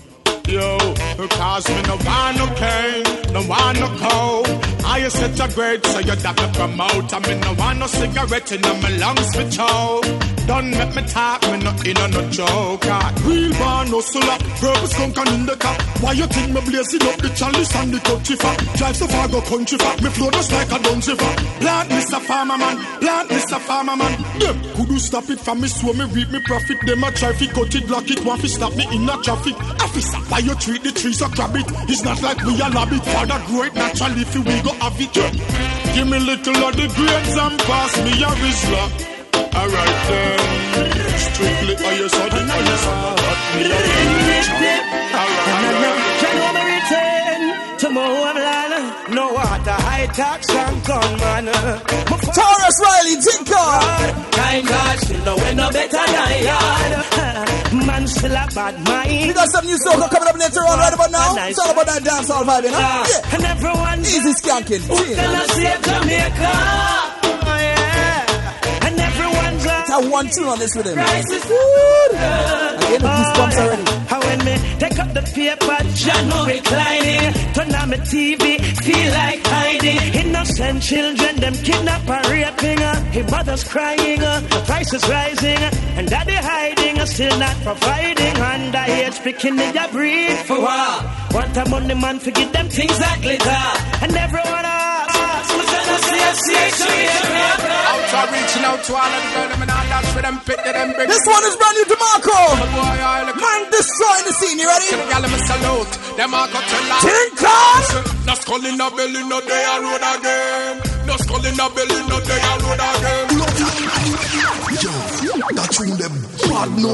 Yo, cause me no want no pain, no want no cold. I set a grade, so you got to promote. I mean, no want no cigarette in my lungs for chow. Don't make me talk, me no in on no joke. Real born no solar, purpose skunk and in the car. Why you think me blazing up the chalice and the country fat? Drive so far, go country fat. Me flow just like a dungeon fat. Plant Mister Farmer Man, plant Mister Farmer Man. Them could you stop it from me so me reap me profit? Them a try fi cut it, block it, want fi stop me in a traffic. Officer, why you treat the trees so grab it? It's not like we a lab it. Father grow it naturally, if we go have it. Give me little of the grades and pass me a Rizla. Alright then, strictly on your side, on your side, but me a Rizla. Alright, can you return to Mohamland? No water, high tax and gunman. Taurus Riley, Tinker. Time God still know we no better than yard. Man still a bad mind. We got some new soca coming up later on right about now. It's all about that dancehall vibe, you know? Yeah. And everyone easy skanking. Who's gonna save Jamaica? Oh yeah. And everyone's like I one tune on this with him. Price is good. Again, the goosebumps already. How when me take up the paper, John reclining, turn on my T V, feel like hiding. Innocent children, them kidnap and raping. His mother's crying, the price is rising, and daddy hiding, still not providing. And I hate speaking in your breed for what? Want a money man to give them things that glitter, and everyone asks, who's gonna see us, see us, see us? Out reaching out to all of the girls, and all that's for them pick them bring. This one is brand new to Marco. Man destroying the scene, you ready? Salute. Them all got to laugh. Tinker! No skull in the belly, no day I road again. No skull in the belly, no day I road again. Yo, that's when them bad no.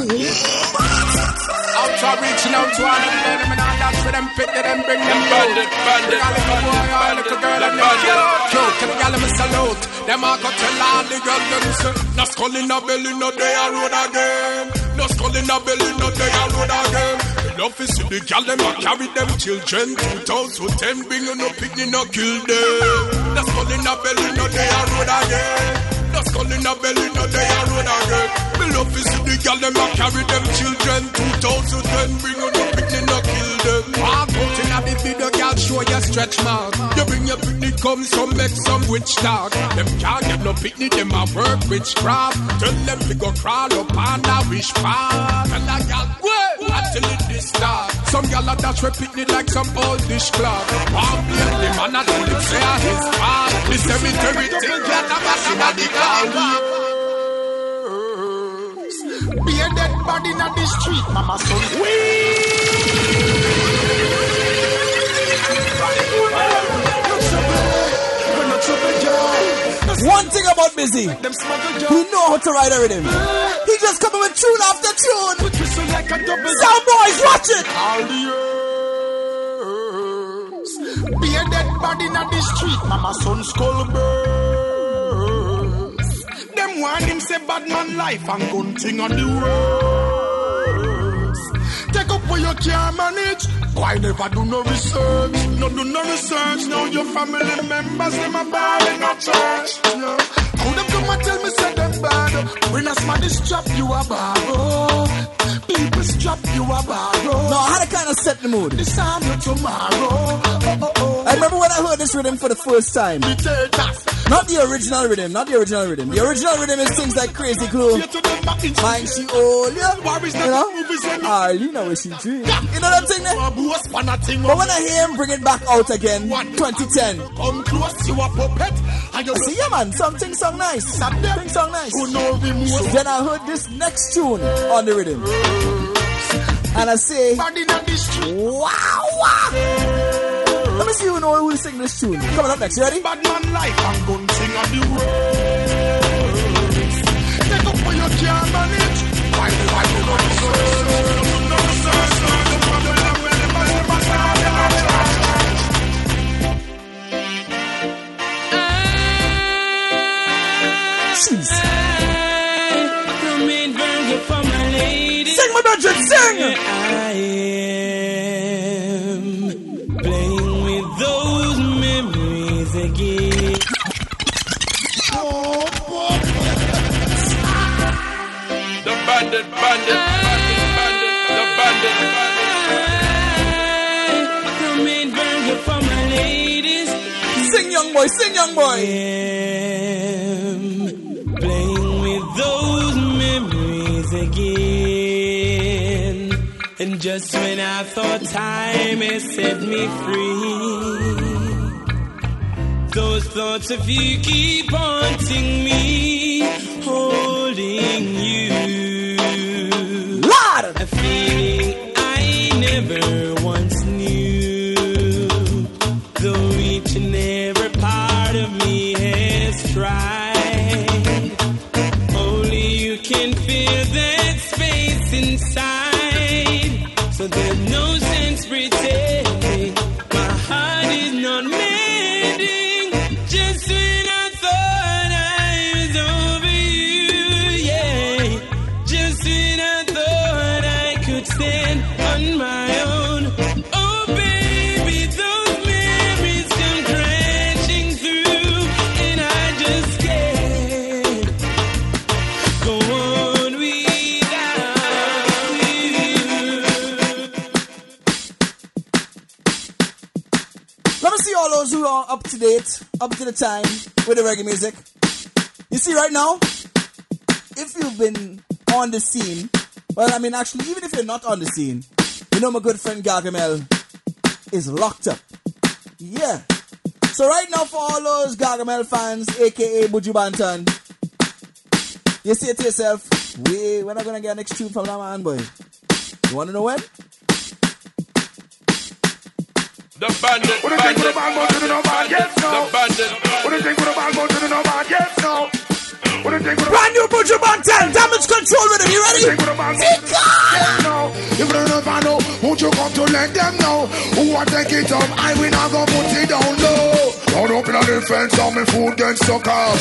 Out reaching out to all of the girls, and all that's for them pick them bring them bandit, bandit, bandit, little girl and bandit. Yo, can you give me salute? Them all got to laugh. The girl them say, no skull in the belly, no day I road again. No skull in the belly, no day I road again. Love is see the gal them a carry them children. two thousand ten bring you no picnic, no kill them. No skull in the belly, no day I road again. No skull in the belly, no day I road again. Me love is see the gal them a carry them children. two thousand ten bring you no picnic, no kill them. Walk out in a big video, gal show your stretch mark. You bring your picnic, come some make some witch talk. Them can't get no picnic, them a work witchcraft. Tell them we go crawl up on a wish path. And a gal wait until it is start. Some gal a dash we picnic like some old dishcloth. One play the man a tell him say a his part. The cemetery thing get a back in a the car. Be a dead body in the street, mama son. One thing about Busy, he know how to ride a rhythm. He just coming with tune after tune. Sound boys, watch it. All the years, be a dead body in the street, mama son skull burst. Them want him say bad man life and gun thing on the worst. Take up where you can't manage. Why never do no research? No do no research. Now your family members them a bad in a church. Yeah. How them come and tell me say them bad? When a somebody strap you a borrow. People strap you a borrow. No, I had to kind of set the mood. This time or tomorrow. Oh, oh, oh. I remember when I heard this rhythm for the first time. Not the original rhythm, not the original rhythm. The original rhythm is things like Crazy Glue. Mind she all, yeah. You know? Arlene, where she dream. You know that thing there? But when I hear him bring it back out again, twenty ten. Come close, you a puppet. I say, yeah man, something song nice. Something song nice. Then I heard this next tune on the rhythm. And I say, wow, wow. Let me see who know who will sing this tune. Coming up next, you ready? Bad man life, I'm gonna sing on the words. Take up for your can't manage. Why the why the why the no research, no problem. When the man the man Jeez. Come in, bring you for my lady. Sing my budget, sing. I am playing with those memories again. The bandit, bandit, bandit, bandit, the bandit, bandit. boy. Sing, young boy. I'm playing with those memories again. And just when I thought time had set me free, those thoughts of you keep haunting me, holding you. Lord! A feeling I never once knew, though each and every part of me has tried. Only you can fill that space inside, so there's no sense pretending my heart is not mending. Just when I thought I was over you, yeah. Just when I thought I could stand on my own. Oh baby, those memories come crashing through, and I just can't go on without you. Let me see all those who are up to date, up to the time with the reggae music. You see right now, if you've been on the scene, well, I mean, actually, even if you're not on the scene, you know my good friend Gargamel is locked up. Yeah. So right now, for all those Gargamel fans, aka Buju Banton, you say to yourself, we, we're not going to get an next tune from that man, boy. You want to know when? The bandit, What do you think with the ball goes to the no ball? Yes, no. the bandit. What do you think with the ball goes to the no ball? Yes, no. What do you think with the Brand new Buju Banton, damage control with him. You ready? Yes, no. If you don't know, won't you come to let them know? Who want take it up? I will not go put it down low. Round up in the fence on me food then suck off.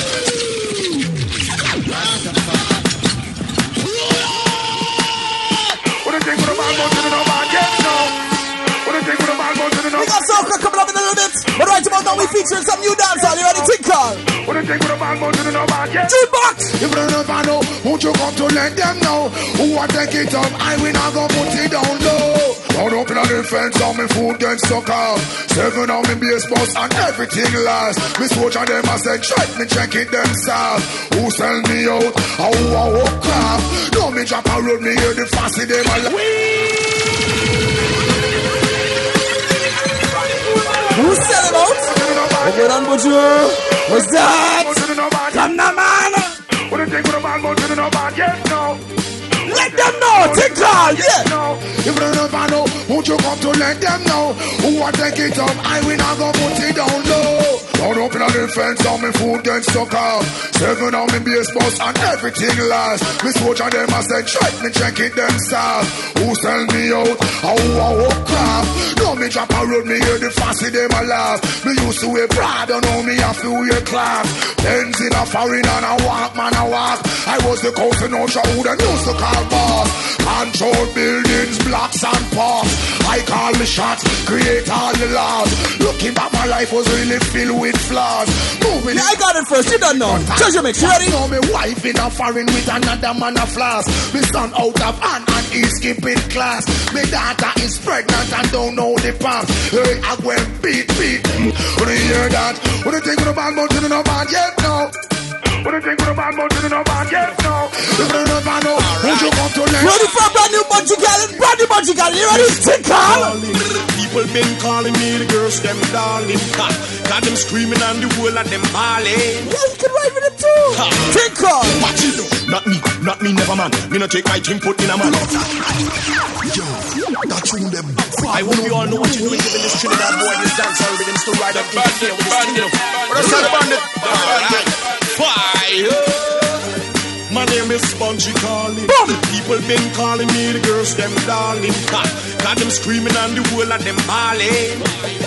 What do you think with the ball goes to the no ball? Yes, no. What do you think with the ball goes to the no We got Soca coming up in a little bit, but right about now we featuring some new dancehall. You ready? Think call. What do you think with the ball goes to the no ball? Yes. Jukebox. If you don't know, won't you come to let them know? Who want take it up? I will not go put it down low. Round up in the fence on me food then suck off. Seven on me base bus and everything last. Me soldier them I said check me check it themselves. Who sell me out? How who a walk craft? No me drop a road me hear the fussy them a Who sell him out? Okay, done, Buju. What's that? Come now, man. What do you think with the ball goes to the no ball? Yes, no. Let them know. Take call. Yeah. No. If you don't know, won't you come to let them know? Who want take it up? I will not go put it down low. Round up in the fence on me food then suck off. Seven on me base bus and everything last. Me soldier them I said check me check it themselves. Who sell me out? How who a walk craft? No me drop a road me hear the fussy them a laugh. Me used to wear Prada, now me have to wear class. Benz in a foreign and a walk man a walk. I was the cousin of who them used to call boss. Control buildings, blocks and parks. I call the shots, create all the laws. Looking back, my life was really filled with flaws. Moving Yeah, I got it first. You don't know. Treasure Mix, you ready? know me wife in a foreign with another man a flask. Me son out of hand and he's skipping class. Me daughter is pregnant and don't know the past. Hey, I go and beat, beat. When you hear that, what do you think with the bad mountain in the band? Yes, no. What do you think with the bad mountain in the band? Yes, no. If you don't know, won't you come to learn? Ready for a brand new Buju Gallon? Brand new Buju Gallon. You ready? Take call. People been calling me the girls, them darling. Ha. Got them screaming and the whole of them bawling. Yeah, you can ride with them too. Ha. Take call. Watch it though. Not me, not me, never man. Me no take my thing, put in a man. Yo, that tune them. I hope you all know what you're doing, giving this Trinidad boy this dancehall rhythm to ride up in here with this thing. What else the bandit? Alright. Fire. My name is Spongy Calling. People been calling me the girls, them darling. Ha. Got them screaming and the whole of them bawling.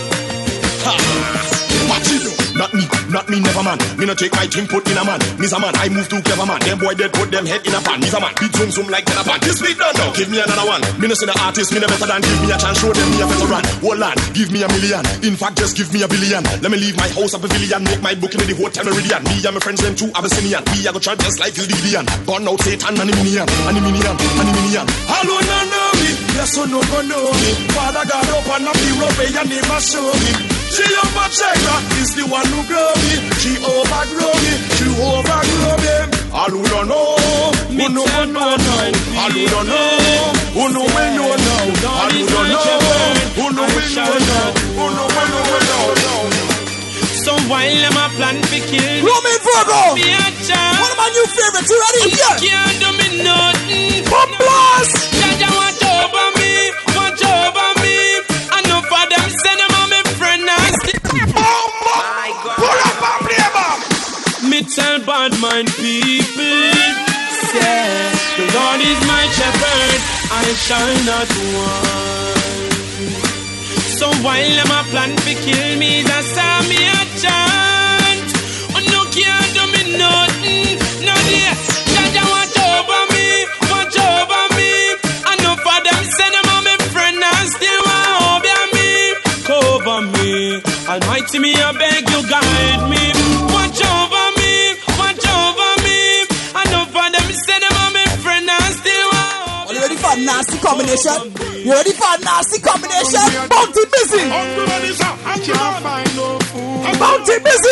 Ha. Watch it though. Not me, not me, never man. Me no take my thing, put in a man. Me's a man, I move too clever man. Them boy dead, put them head in a pan. Me's a man, beat zoom zoom like ten a pan. This beat done now, give me another one. Me no see the artist, me no better than. Give me a chance, show them me a veteran. Hold on, give me a million. In fact, just give me a billion. Let me leave my house a pavilion. Make my booking in the hotel Meridian. Me and my friends, them two Abyssinian. We a go try just like the Gideon. Gone out Satan and the minion, and the minion, and the minion. Hello, no, no, me. Yes, so no, go know me. Father God up and up the rope, your name a show me. Jehovah Jireh is the one who grow me. Jehovah grow me. Jehovah grow me. All who don't know, who know who know now. All who don't know, who know when you know. All who don't know, who know when you know. Who know when you know. So while I'm a plan to kill Roman Virgo, me a chance. one of my new favorites. You ready? You can't do me nothing. Bomb blast. Jaja watch over me, watch over me. I know for them send them on me friend nasty. My God. Pull up and play bomb. Me tell bad mind people, say the Lord is my shepherd, I shall not want. So while I'm a plan to kill me, that's how me a chant. Oh no, can't do me nothing, no dear. Jaja watch over me, watch over me. I know for them send them on me friend and still want over me, cover me. Almighty me, I beg you guide me. Watch over me, watch over me. I know for them send them on me friend and still want. Are you ready for a nasty combination? You ready for a nasty combination? Bounty busy. I can't find no food. Bounty busy.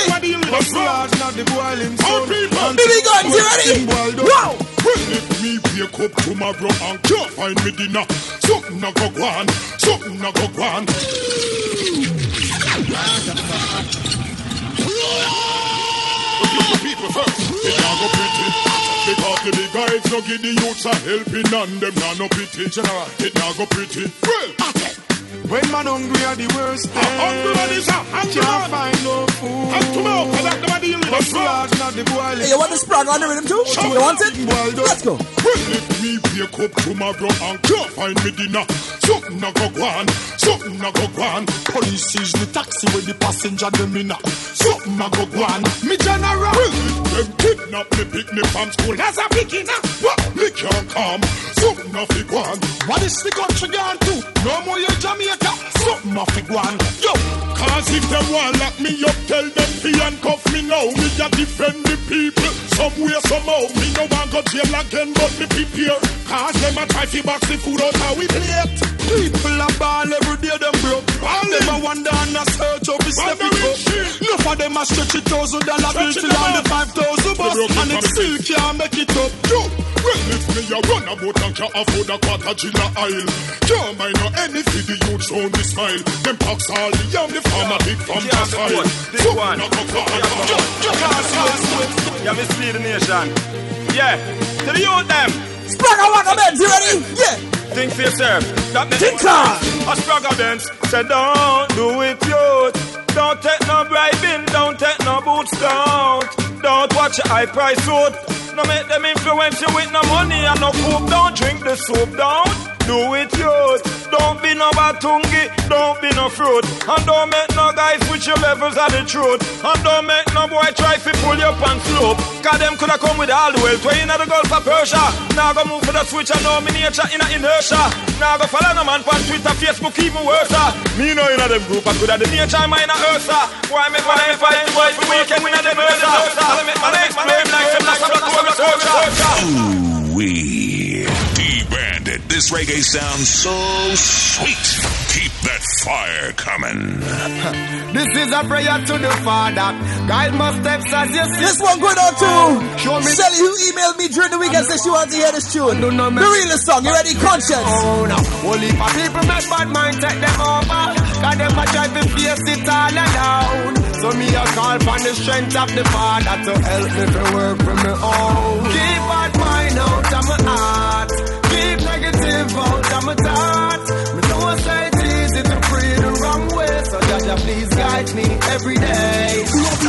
Billy Guns, you ready? Wow. If me wake up tomorrow and can't find me dinner, something a go go on, something a go go on. People first, it now go pretty. Because the big guys no give the youths a helping and them now no pity. General, it now go pretty. Well, when man hungry are the worst thing. Hungry is a hungry can't find no food. And tomorrow, cause I'm gonna deal with the frog, not the boiling. Hey, you want the sprag on the rhythm too? Sure. You want it? Let's go. Well, if me wake up tomorrow and can't find me dinner, something a go go on, something a go go on. Police is the taxi with the passenger them in. Something a go go on. Me general. Well, them kidnap me, pick me from school as a picking up. What? Me can't come. Something a fi go on. What is the country gone to? No more you Jamaica. Something a fi go on. Yo, cause if them want lock me up, tell them fi handcuff me now. Me a defend the people. Somewhere, somehow, me no want go jail again, but me prepare. Cause them a try fi box the food out how we plate. People a ball every day, them broke. All them a wonder and a search up, step it up. Enough of them a stretch it thousand dollar bill till on the five thousand bus, and it still can't make it up. Yo, well if me a run about and can't afford a quarter gin a aisle, can't mind no any for the youths on the smile. Them pox all the young, the farmer big from the soil. Big one. Yeah, mislead the nation. Yeah, to the youth them. Spragga Wagga Benz, you ready? Yeah. Think for yourself. That me think on. A Spragga Benz said don't do it, youth. Don't take no bribing, don't take no boots, don't. Don't watch a high price suit. No make them influence you with no money and no coop. Don't drink the soup, don't do it, youth. Don't be no batungi, don't be no fruit. And don't make no guys with your levels of the truth. And don't make no boy try to pull you up and slope. Cause them coulda come with all the wealth. Way in the Gulf of Persia. Now go move for the switch and know me nature in a inertia. Now go follow no man on Twitter, Facebook, even worse. Me know in a them group, I coulda the nature mine a Ursa. Why make my life fight the boys for weekend in a them Ursa? I'll make my next blame like some like a black woman soldier. Ooh-wee. D-Bandit. This reggae sounds so sweet. Keep that fire coming. This is a prayer to the Father. Guide my steps as you see. This one going out to Shelly, who emailed me during the week and said she wants to hear this tune. The realest song. You ready? Conscience. Oh, no. Only for people make bad mind take them over. Cause them a try to face it all alone. So me a call for the strength of the Father to help me to work for me own. Keep bad mind out of my heart. Keep negative out of my thoughts. Me know I say it's easy to free the wrong way. So Jaja, please guide me every day.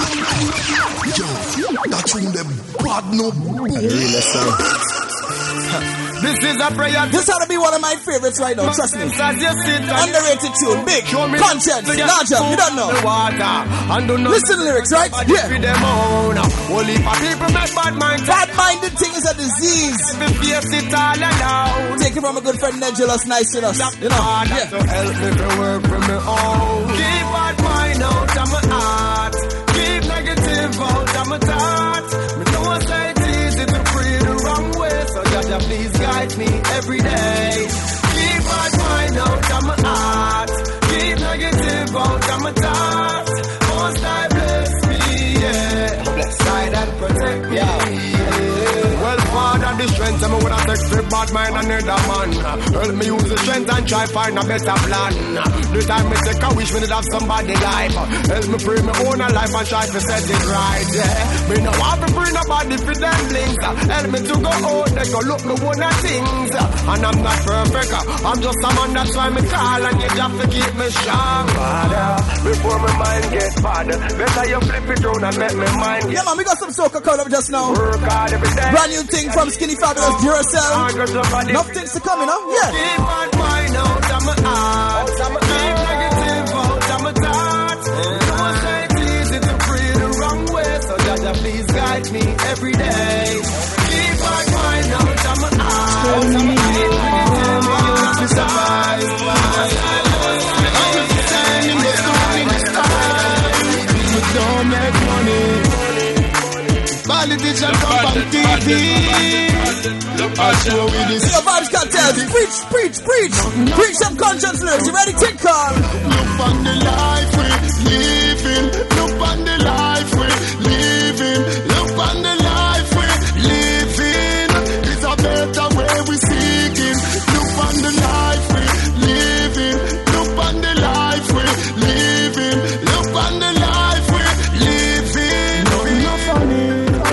Yo, that tune them bad no really song. This is a prayer. This ought to be one of my favorites right now, trust me. Underrated tune, big, conscience, larger, you don't know. Listen to lyrics, right? Yeah. Only for people make bad mind. Bad-minded thing is a disease. Take it from a good friend, Negelus, nice to us. You know, yeah. To help me to work for me own. Keep bad mind out of my heart. Keep negative out of my thoughts. Me know I say it's easy to free the wrong way. So Jaja, please guide me every day. Keep bad mind out of my heart. Keep negative out of my thoughts. make the bad mind another man. Help me use the strength and try find a better plan. The time me take a wish me to have somebody life. Help me pray me own a life and try to set it right. Yeah, me no want to bring nobody for them links. Help me to go out, they go look me one of things. And I'm not perfect, I'm just a man, that's why me call and you have to keep me strong. Father, before my mind gets bad, better you flip it down and make me mind get. Yeah man, we got some soca coming up just now. Work hard every day. Brand new thing from Skinny Fabulous, Duracell. Enough things to come, you know? Yeah. Keep my mind out of my heart. Keep negative out of my thoughts. Don't say it's easy to free the wrong way. So Jaja, please guide me every day. Keep my mind out of my heart. Keep negative out of my thoughts. Don't make money. Politician come on T V. Your vibes can't tell. Preach, preach, preach. Preach some conscience lyrics. You ready? Tick call. Look on the life we living. Look on the life we living. Look on the life we living. It's a better way we seeking. Look on the life we living. Look on the life we living. Look on the life we living. No, no funny.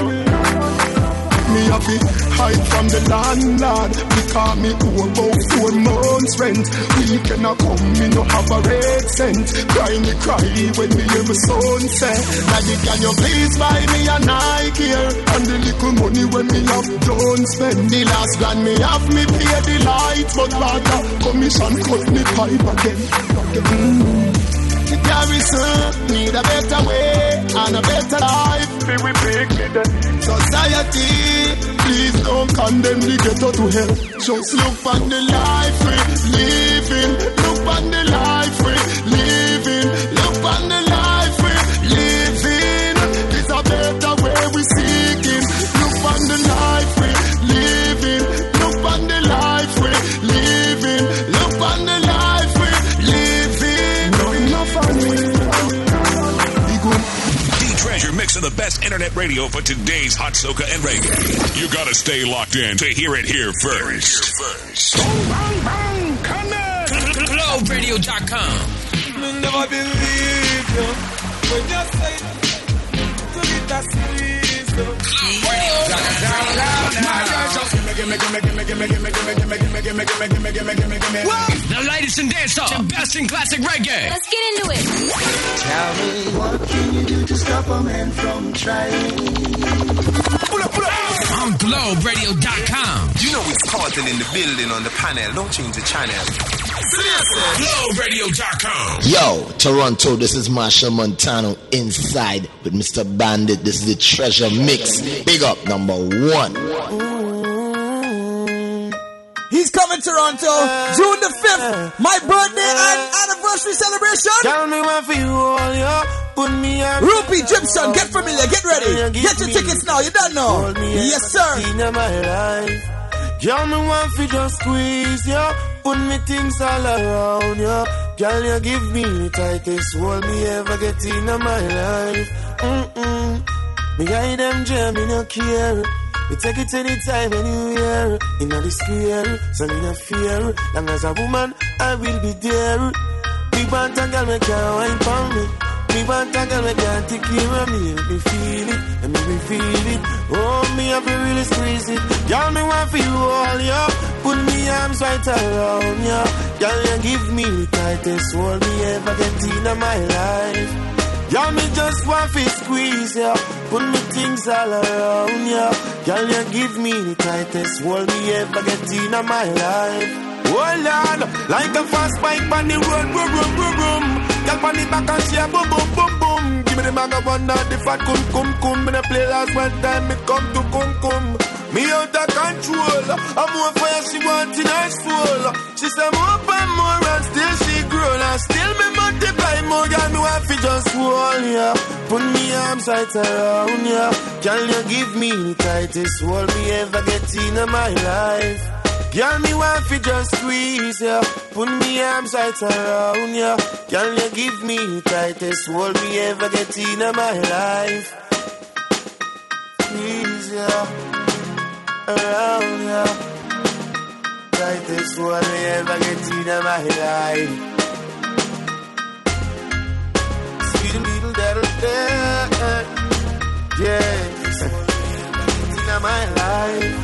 Me have it hide from the landlord because me owe about four months rent. We cannot come, me no have a red cent. Cry me cry when me hear my son say, Daddy, can you please buy me a Nike here? And the little money when me have done spend. The last grand me have me pay the light, but rather commission cut me pipe again. Mm. The garrison need a better way and a better life. We pick it. Society, please don't condemn the ghetto to hell. Just look on the life we living. Look on the life we living. Look on the life we living. It's a better way we seeking. Look on the life we living. Look on the life we living. Look on the life we living. No, enough funny. D-Treasure mixing the best internet radio for today's hot soca and reggae. You gotta stay locked in to hear it here first. Bang, bang, bang, come on. globe radio dot com. Never believe you when you say to get that squeeze. globe radio dot com. The latest in dancehall, the best in classic reggae. Let's get into it. Tell me, what can you do to stop a man from trying? Pull up, pull up. On globe radio dot com. You know it's Carlton in the building on the panel. Don't change the channel. globe radio dot com. Yo, Toronto, this is Marshall Montano inside with Mister Bandit. This is the Treasure Mix. Big up, number one. He's coming Toronto, June the fifth, my birthday and anniversary celebration. Tell me what for you all, yo. Put me on. Rupee Gypsum, get familiar, get ready. Get your tickets now, you don't know. Yes, sir. Girl, me want fi just squeeze, yo. Put me things all around, yo. Girl, you give me the tightest hold me ever get in my life. Mm-mm. Me guide them jam, me no care. We take it anytime, anywhere. In the square, so me no fear. Long as a woman, I will be there. Big band and girl, me can't wine for me. Big band and girl, me can't take care of me. Make me feel it, and make me feel it. Oh, me have to really squeeze it. Girl, me want for you all, yo. Put me arms right around, yo. Girl, you give me the tightest hold me ever get in my life. Girl, me just want to squeeze, yeah. Put me things all around, yeah. Girl, you give me the tightest hold me ever get in my life. Oh Lord, like a fast bike on the road, boom, boom, boom, boom. Girl, on the back and she a boom, boom, boom, boom. Give me the maga one, not the fat cum, cum, cum. Me the play last one time, me come to cum, cum. Me out of control. I'm more fire, she want in her soul. She say more and more and still she grow. And still me multiply more. Girl, me want to just hold ya. Put me arms right around ya. Girl, you give me the tightest hold me ever get in my life. Girl, me want to just squeeze ya. Put me arms right around ya. Girl, you give me the tightest hold me ever get in my life. Squeeze ya. Around ya, tightest one I ever get in my life. See the little that'll there, yes, in my life.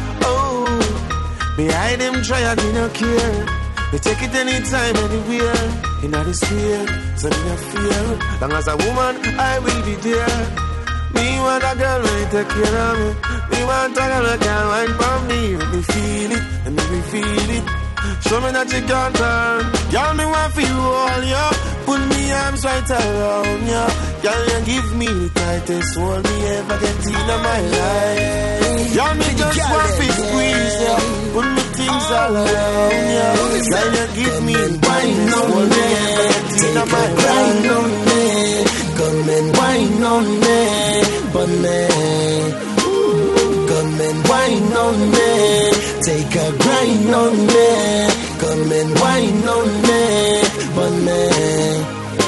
Oh, behind them try I do not care. They take it anytime, anywhere. In the sphere, so me no fear. Long as a woman, I will be there. Me want a girl when take care of me. Me want a girl that can wine for me. Let me feel it, let me feel it. Show me that you can turn. Y'all me want for you all, yo. Put me arms right around you. Y'all you give me the tightest hold me ever get in my life. Y'all me just want to squeeze you. Put me things all around you. Y'all you give me the tightest hold me ever get in my life. Come and wine on me, but me. Come and wine on me, take a grind on me. Come and wine on me, but me.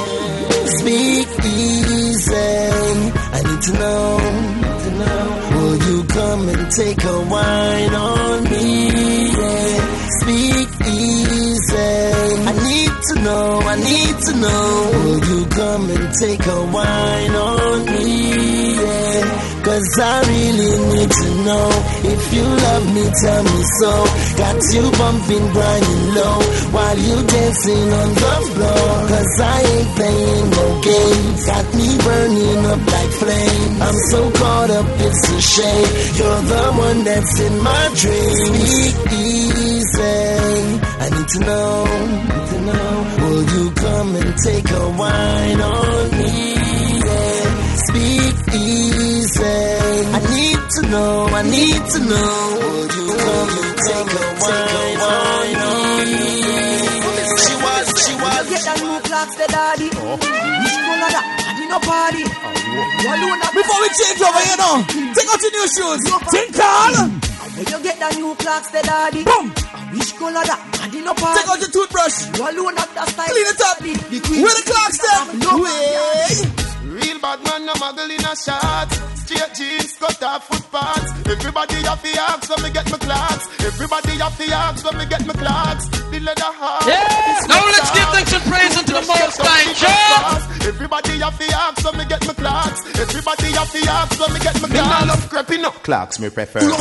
Speak easy, I need to know, to know. Will you come and take a wine on me? Yeah. Speak easy, I need to know, I need to know. Will you come and take a wine on me? Yeah. Cause I really need to know. If you love me, tell me so. Got you bumping, grinding low while you dancing on the floor. Cause I ain't playing no games. Got me burning up like flame. I'm so caught up, it's a shame. You're the one that's in my dreams. Speak easy, I need to know, need to know. Will you come and take a wine on me? Yeah. Speak easy, I need to know, I need to know. Will you come and take a wine on me? She was, she was. Get that new clocks, the daddy. Which color that? I did no party. Before we change over, you know, take out your new shoes. Tinkle. When you get that new clocks, the daddy. Boom. Which color that? I did no party. Take out your toothbrush. You alone have that style. Clean it up. Where the clocks then? Wait. Real bad man, no muggle in a shot. Straight jeans, cut off footpaths. Everybody have the axe when me get my clocks. Everybody have the axe when me get my clocks. The leather hard. Yeah. Now let's give thanks and praise unto the Most High God. Everybody have the axe when me get my clocks. Everybody have the axe when me get my clocks. Me love creeping up. Clocks me prefer. Yo,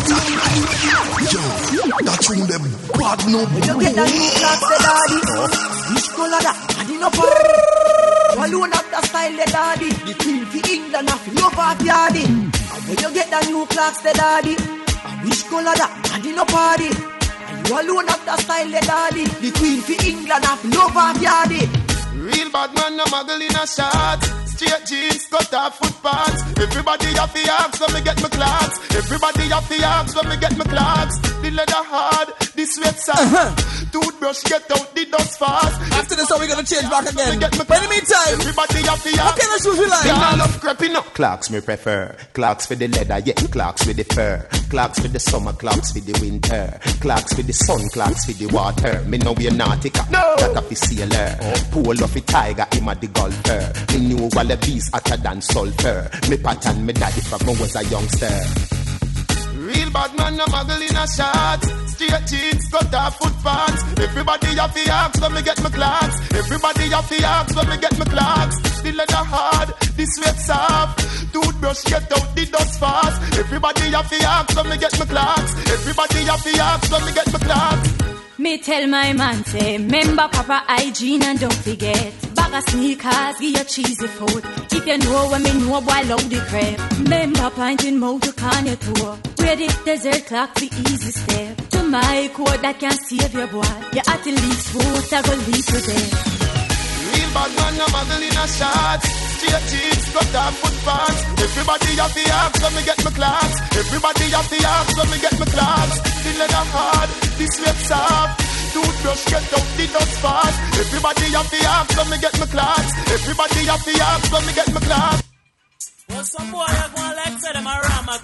that's when them bad no. When you get that new clocks, the daddy. Which color that? I did no party. You alone have that style, the daddy. The queen for England, I feel love off yardy. When you get that new clocks, the daddy. Which color that? I did no party. You alone have that style, the daddy. The queen for England, I feel love off yardy. Real bad man, no muggle in a shot. Straight jeans, cut off footpaths. Everybody have the axe when me get my clocks. Everybody have the axe when me get my clocks. The leather hard, the sweat soft. Uh-huh. Toothbrush get out the dust fast. After this, how we gonna change back again? But in the meantime, everybody have the axe. What kind of shoes we like? I love creeping up. Clocks me prefer. Clocks for the leather, yeah. Clocks with the fur. Clocks for the summer, clocks for the winter. Clocks for the sun, clocks for the water. Me know we're nautica. No. That of the sailor. Oh. Pool of the tiger, him a the golfer. Me knew all the bees hotter than sulfur. Me pattern me daddy from when I was a youngster. Real bad man, no muggle in a shot. Straight jeans, cut off footpaths. Everybody have the axe when me get my clocks. Everybody have the axe when me get my clocks. The leather hard, the sweat soft. Toothbrush get out the dust fast. Everybody have the axe when me get my clocks. Everybody have the axe when me get my clocks. Me tell my man say, remember proper hygiene and don't forget. Bag of sneakers, give your cheesy food. If you know when me know, boy, love the crap. Remember pointing mouth to can your tour. Where the desert clock the easy step. To my code that can save your boy. You at the least foot, I go leave you there. Real bad man, no muggle in a shot. Straight jeans, cut off footpaths. Everybody have the axe when me get my clocks. Everybody have the axe when me get my clocks. The leather hard, the sweat soft. Toothbrush get out the dust fast. Everybody have the axe when me get my clocks. Everybody have the axe when me get my clocks. Well, some boy are going like say them a rama.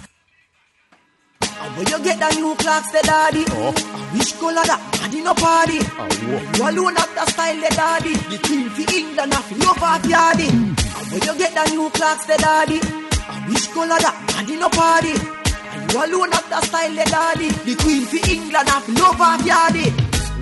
And when you get that new clocks, the daddy. Oh. Which color that? I did no party. Oh, you alone have that style, the daddy. The queen for England, I feel love off yardy. Mm. And when you get that new clocks, the daddy. Which color that? I did no party. And you alone have that style, the daddy. The queen for England, I feel love off yardy.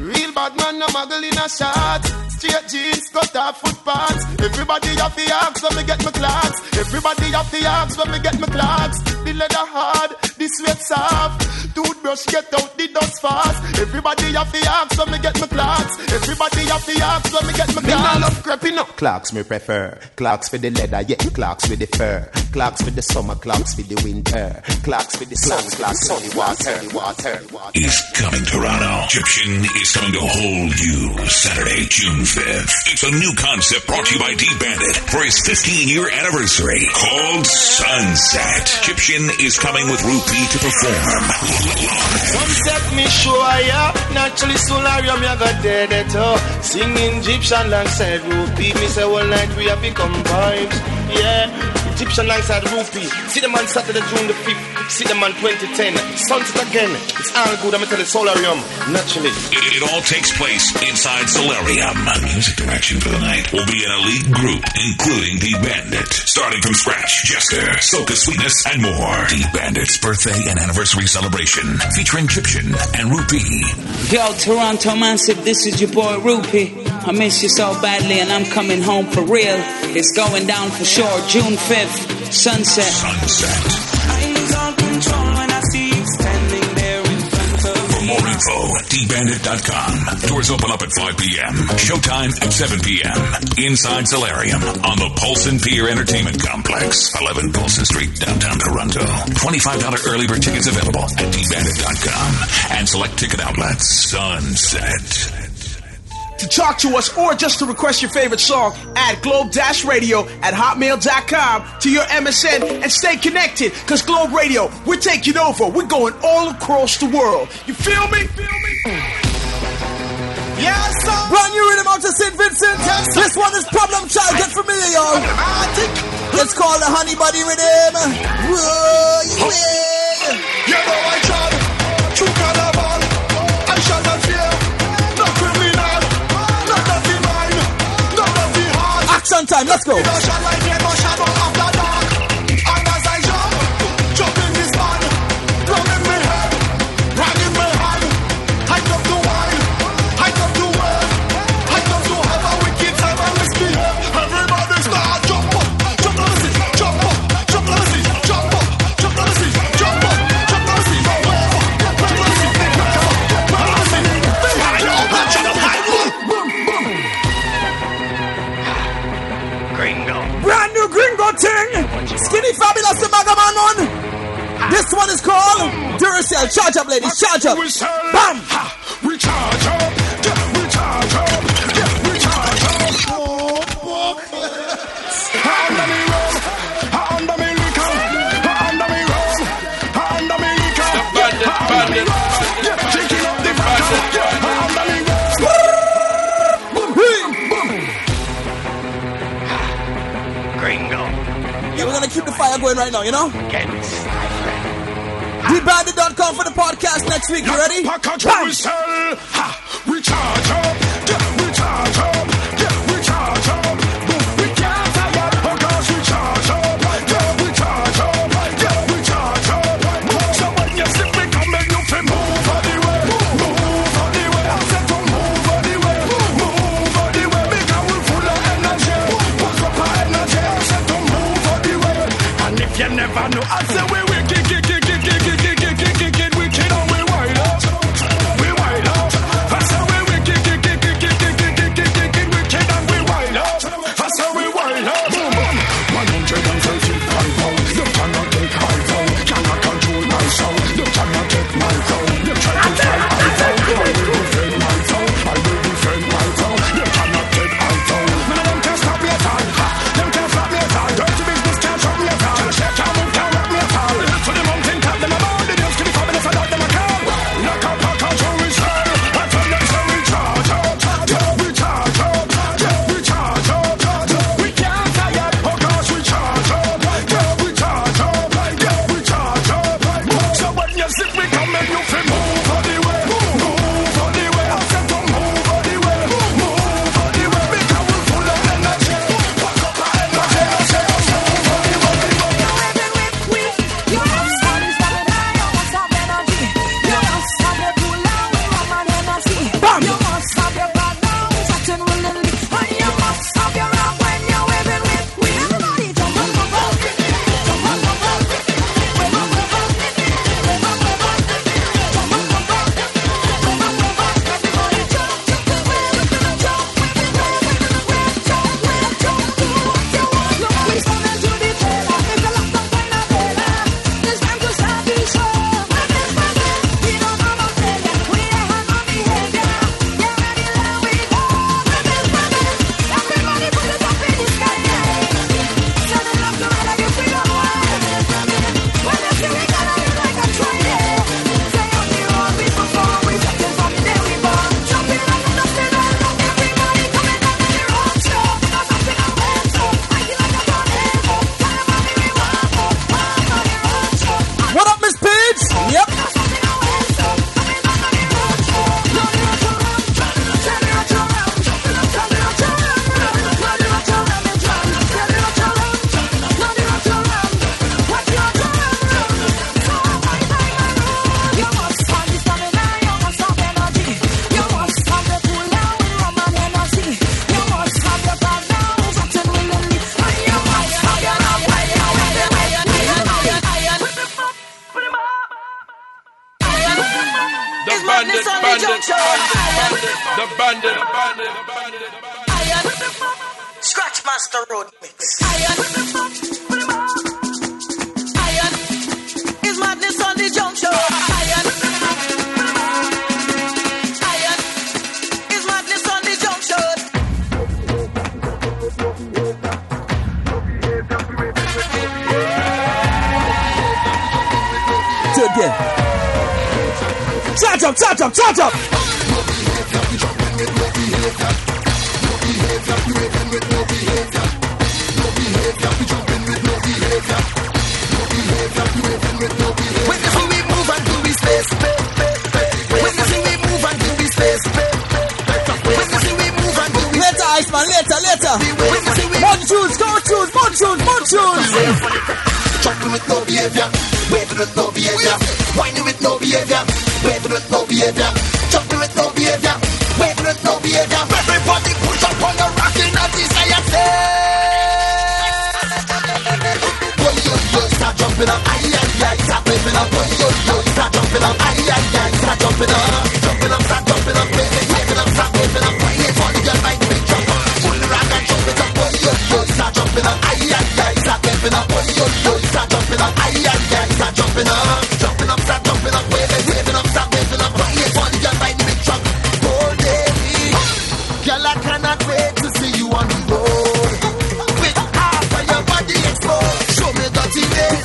Real bad man, no muggle in a shot. Straight jeans, cut off footpaths. Everybody have the axe when me get my clocks. Everybody have the axe when me get my clocks. The leather hard, the sweat soft. Toothbrush get out the dust fast. Everybody have the axe when me get my clocks. Everybody have the axe when me get my clocks. Me love creeping up. Clocks me prefer. Clocks for the leather, yeah. Clocks with the fur. Clocks for the summer, clocks for the winter. Clocks for the sun, clocks for the water. water, water. Is coming to Toronto. Egyptian is coming to hold you Saturday, June fifth. It's a new concept brought to you by D-Bandit for his fifteen-year anniversary called Sunset. Egyptian is coming with Rupee to perform. Sunset me sure ya. Naturally solarium ya got dead at all. Singing Egyptian alongside Rupee. Me say all night we have become vibes. Yeah. Egyptian alongside Rupee. See the man Saturday, June the fifth. See the man twenty ten. Sunset again. It's all good. I'm tell you solarium. Naturally. It, it all takes place inside Solarium. Music direction for the night will be an elite group, including D-Bandit. Starting from scratch, Jester, Soca Sweetness, and more. D-Bandit's birthday and anniversary celebration featuring Egyptian and Rupee. Yo, Toronto Massive, this is your boy Rupee. I miss you so badly and I'm coming home for real. It's going down for sure, June fifth, Sunset. Sunset. I lose all control when I see you standing there in front of For me. more info, D bandit dot com. Doors open up at five p.m. Showtime at seven p.m. Inside Solarium on the Polson Pier Entertainment Complex, eleven Polson Street, downtown Toronto. twenty-five dollars early bird tickets available at D bandit dot com and select ticket outlets. Sunset. To talk to us or just to request your favorite song, add Globe Dash Radio at hotmail dot com to your M S N and stay connected, because Globe Radio, we're taking over. We're going all across the world. You feel me? Feel me? Yes, sir. Brand new rhythm out to Saint Vincent. Yes, this one is Problem Child. Get familiar, y'all. It's called the Honey Buddy Rhythm. Whoa, yeah. You know I tried. True cannibal. I shall not fear. No criminal. No dirty mind. No dirty heart. Action time. Let's go. No shot like me, no shadow after dark. And as I jump, jump in this man. Drum in my head. Rag in my hand. I come to wine. I come to work. I come to have a wicked time and misbehave. Everybody start jump up. Jump on the seat. Jump up. Jump on the seat. Jump up. Jump on the seat. Jump up. Jump on the seat. Jump on the seat. Jump on the seat. Gringo. Brand new Gringo thing. Skinny Fabulous the Magaman one. This one is called Duracell. Charge up, ladies. Charge up. Bam. We charge up. Yeah, we charge up. Yeah, we charge up. Oh, fuck. Under me rum. Under me liquor. Under me rum. Under me liquor. The bandit, bandit. Yeah, taking up the bandit. Yeah, under me rum. Gringo. Yeah, we're gonna keep the fire going right now, you know? D bandit dot com for the podcast next week. You ready? Package we sell. Ha, we charge up. Yeah, we charge up. Yeah, we charge up. We can't tire because we charge up. Yeah, we charge up. Yeah, we charge up. So when you see me coming, you feel move all the way. Move all the way. I said to move all the way. Move all the way. Because we full of energy. Pack up our energy. I said to move all the way. And if you never know, I say we we kick kick kick kick kick kick kick kick kick kick kick we kid on we wild out. We wild out. I say we we kick kick kick kick The bandit, bandit, the bandit, the bandit, the bandit. Scratch Master Road Mix. Iron. Iron is madness on the junction. Iron. Iron is madness on the junction. Do it again. Charge up, charge up, charge up. When you see we move and do we space. When you see we move and do we space. When you see we move and do we later, Iceman, later, later. More tunes, more tunes, more tunes, more tunes. Jumping with no behavior, waving with no behavior, whining with no behavior, waving with no behavior, jumping with no behavior, waving with no behavior. Everybody push up on the rocking of the society. Start jumping up, aye aye aye, start waving up, yo yo, start jumping up, aye aye aye, start jumping up, jumping up, start jumping up, waving, waving up, start waving up, waving for the girl like big jump, pull the rock and jump it up, yo yo, start jumping up, aye aye aye, start waving up, yo yo, start jumping up, aye aye aye, start jumping up, jumping up, start jumping up, waving, waving up, start waving up, waving for the girl like big jump, oh baby, girl I cannot wait to see you on the road, with half of your body exposed, show me dirty days.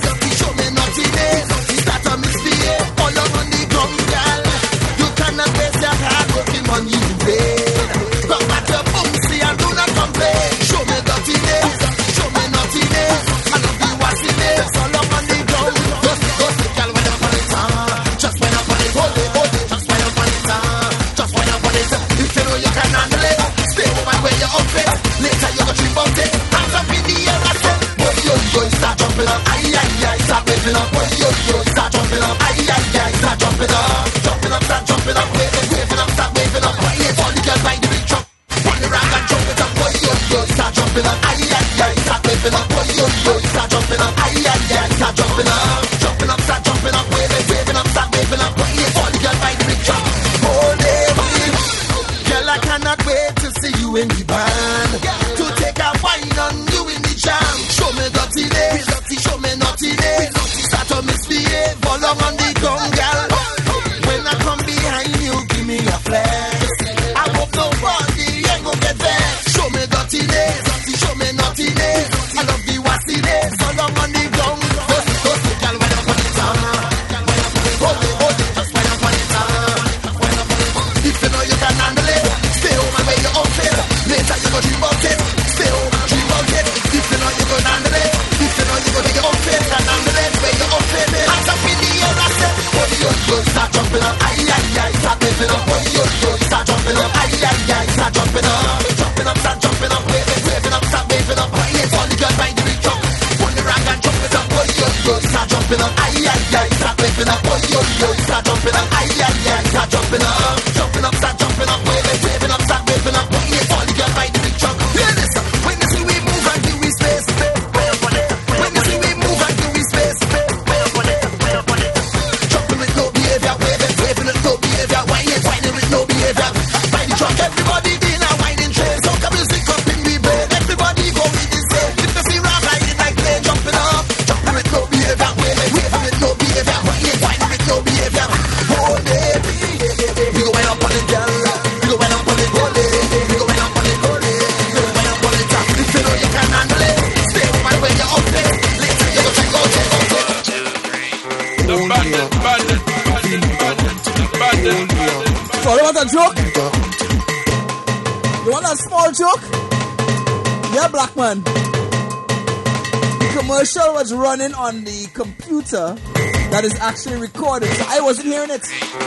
Was running on the computer that is actually recorded, so I wasn't hearing it.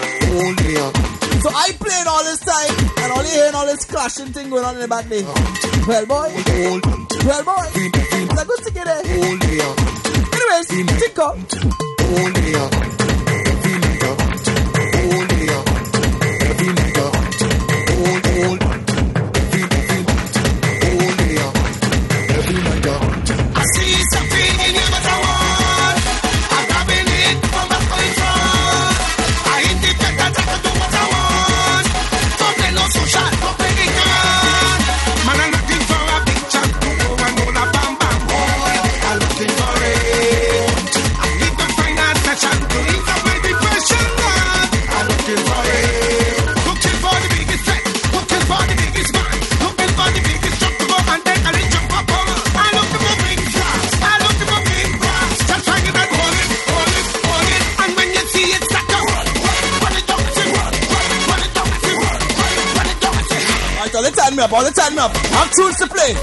So I played all this time and only hearing all this clashing thing going on in the back there. Well boy, well boy, it's a good to get it. Anyways, think up. I hit the time me up, all the time me up. I'm tunes to play.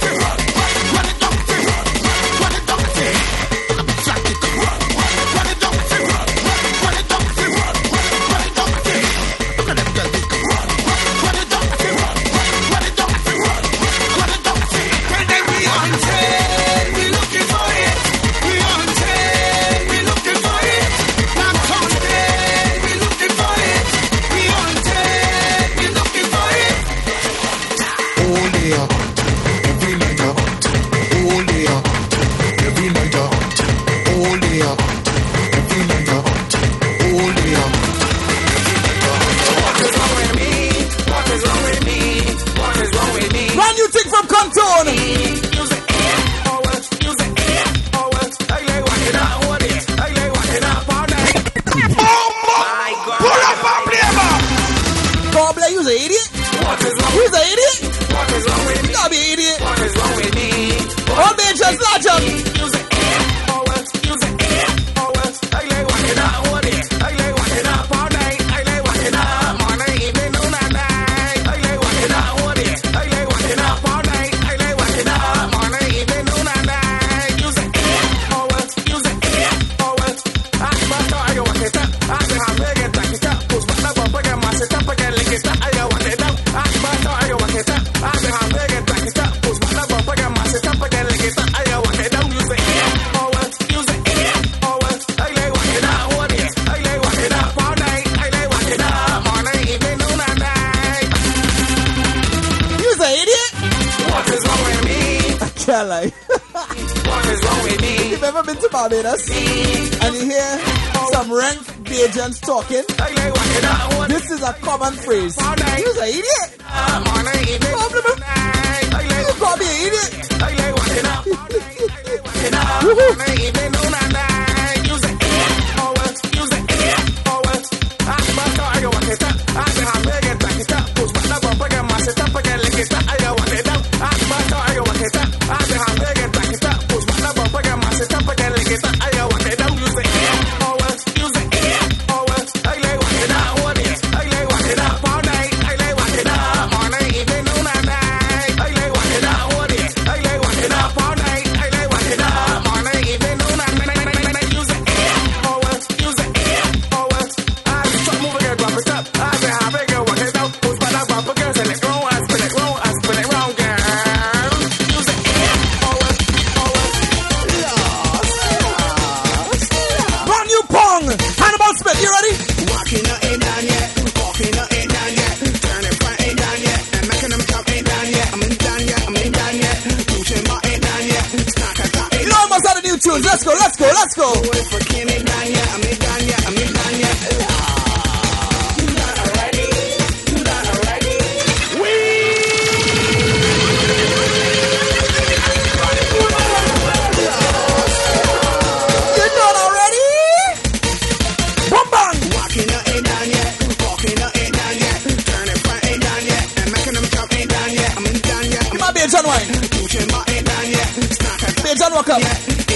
Barbados and you hear some rank Bajans talking, this is a common phrase. You're an idiot. You call me an idiot. Let's go, let's go, let's go. Bajan wine. Bajan walk up.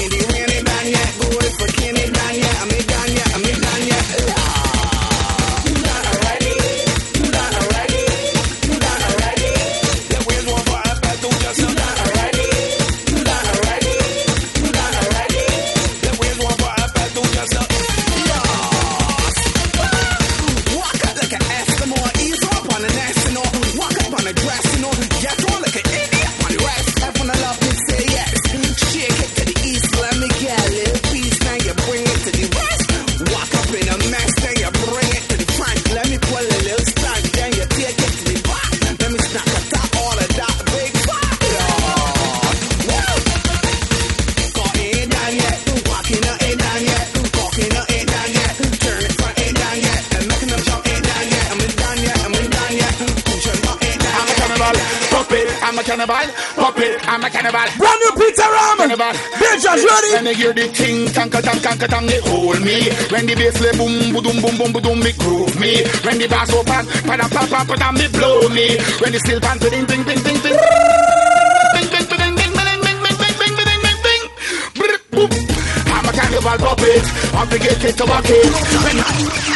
I'm a cannibal, pop it, I'm a cannibal. Brand new Peter Ram. Bitches ready. When they hear the ting, tanka tang tanka tang, they hold me. When the bass play boom, boom, boom, boom, boom, boom, me groove me. When the bass open, pa da pa pa pa da me blow me. When the steel pan, ding ding ding ding ding. Bing bing bing bing bing bing bing bing bing bing bing bing. I'm a cannibal puppet, I'm the get it to walk it.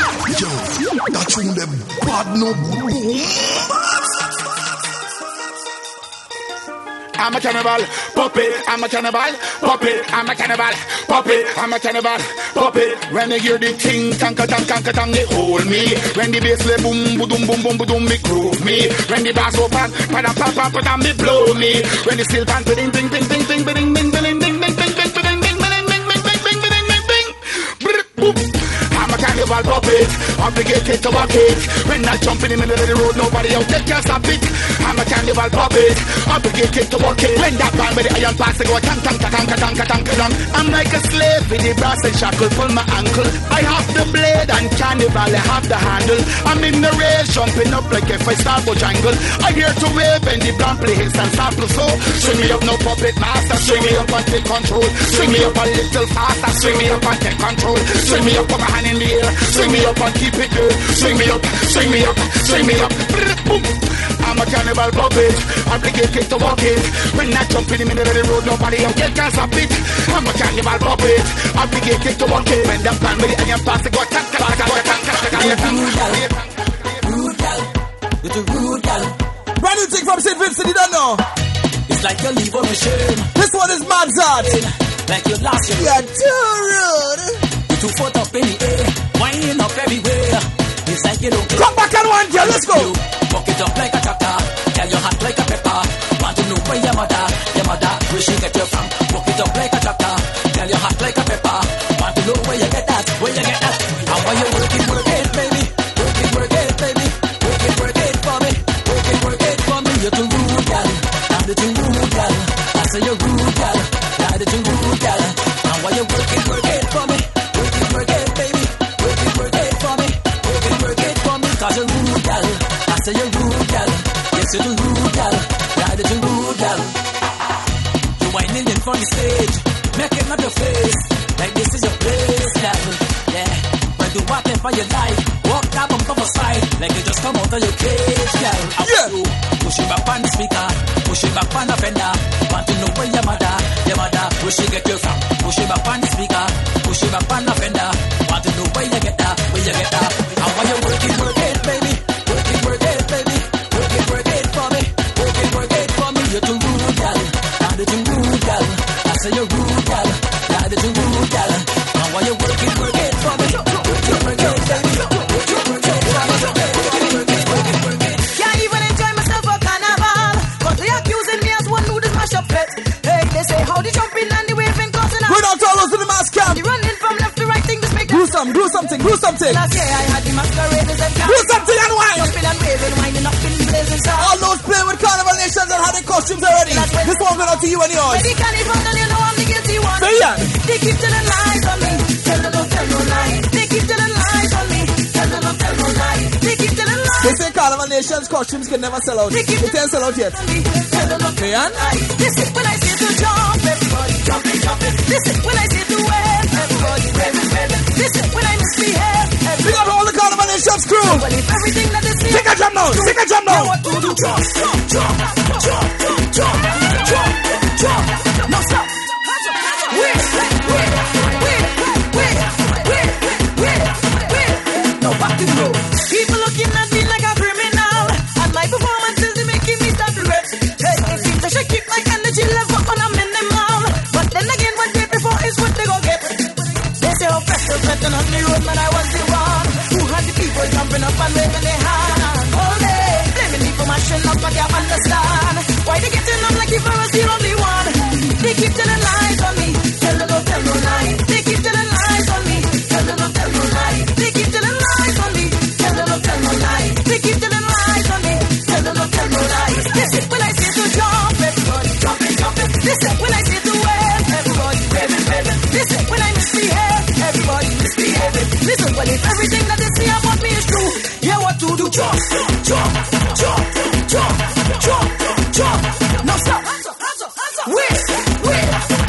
Yo, that tune them bad no boom. I'm a cannibal, puppet, I'm a cannibal, puppet, I'm a cannibal, puppet, I'm a cannibal, puppet. When you hear the ting, tanka tang tanka tang, it hold me. When the bass play boom, boom, boom, boom, boom, boom, me groove me. When the bass open, pada pa pa pa, me blow me. When the steel pan, ding ding ding ding ding ding ding ding ding ding ding ding ding ding ding ding ding ding. I'm a cannibal puppet, obligated to walk it. When I jump in the middle of the road, nobody out there can stop it. I'm a cannibal puppet, obligated to walk it. When that band with the iron pass, they go tang tang tang tang tang tang tang. I'm like a slave with the brass and shackle pull my ankle. I have the blade and cannibal, I have the handle. I'm in the race, jumping up like if I start Bojangle. I hear to wave and the blunt play hits and sample so. Swing me up, no puppet master. Swing me up and take control. Swing me up a little faster. Swing me up and take control. Swing me up, put my hand in the air. Swing me up and keep it there. Swing me up, swing me up, swing me up. Boom. I'm a cannibal puppet, obligated to walk it. When I jump in the middle of the road, nobody out there can stop it. I'm a cannibal puppet, obligated to walk it. When the plan with the iron pass, they go tank, tank, tank, tank, tank, tank. Rude gal, you're the rude gal. Brand new thing from Saint Vincent, you don't know. It's like you leave on a shame. This one is Mad Zard. Like you lost your. You're too rude. You're too foot up in the air, winding up everywhere. It's like you don't care. Come back and one, girl, let's go. Buck it up like a tractor, tell your hot like a pepper. Want to know where your mother, your mother, where she get you from. Buck it up like a tractor, tell your hot like a pepper. Want to know where you get that, where you get that. How are you working, work it, baby. Work it, work it, baby. Work it, work it for me. Work it, work it for me. You're too rude, gal. I'm the too rude, gal. I say you're rude, gal. I'm the too rude, gal. How are you working, work it for me. Work it, work it, baby. Work it, work it for me. Work it, work it for me. Cause you're rude, gal. I say you're rude, gal. Yes, you're the rude, gal. Yeah, the rude, gal. You're whining in front of the stage, making up your face like this is your place, gal. Yeah, but do whatever you like. Walk that bump off a side like you just come out of your cage, gal. Yeah. You push it back on the speaker, push it back on the fender. Want to know where your mother, your mother, where she get you from? Push it back on the speaker, push it back on the fender. Want to know where you get that, where you get that. How are you working, work it, baby? Work it, work it, baby. Work it, work it for me. Work it, work it for me. You're too rude, gal. I'm the too rude, gal. I say you're rude, gal. I'm the too rude, gal. How are you working, work it for me? Work it, work it, baby. Work it, work it for me. Work it, work it, work it, work it. Can't even enjoy myself for carnival. Cause they accusing me as one who does mash up pet. Hey, they say how the jumping and the waving causing Going out to all those in the mask camp. The running from left to right thing just make Do some, do something, do something. Last year I had the masqueraders and Do something and wine. Jumping and waving, winding up in blazing stars. All those playing with Carnival Nations and had their costumes already. This one going out to you and yours. When the carnival, then you know I'm the guilty one. Say yeah. They keep telling lies on me. Tell them don't tell no lie. They keep telling lies on me. Tell them don't tell no lie. They keep telling lies. They say Carnival Nations costumes can never sell out. They can't sell out yet. Tell them don't tell no lie. This is when I say to jump, everybody jumping, jumping. This is when I say to wave, everybody waving, waving. This is when I misbehave. Big up all the Carnival Nations crew. Well, if everything that they say, take a jump now, take a jump now. What to do? Jump, jump, jump, jump, jump, jump, jump, jump. No stop. Wait, wait, wait, wait, wait, wait, wait, wait. No back to go. People looking at me like a criminal, and my performances they making me start to rest. Hey, it seems I should keep my energy level on a minimal, but then again, what they before is what they go get. They say, oh, pressure, pressure on the road, man, I was the one who had the people jumping up and waving their hand. All day, blaming me for mashing up, I can't understand why they getting up like if I was the only one. They keep telling lies on me, tell them don't tell no lie. They keep telling lies on me, tell them don't tell no lie. They keep telling lies on me, tell them don't tell no lie. They keep telling lies on me, tell them don't tell no lie. This is when I say to jump, everybody jumping, jumping. This is when I say to wave, everybody waving, waving. This is when I misbehave, everybody misbehaving. Listen, well if everything that they say about me is true, yeah, what to do? Jump, jump, jump, jump, jump, jump. No stop. Wait, wait.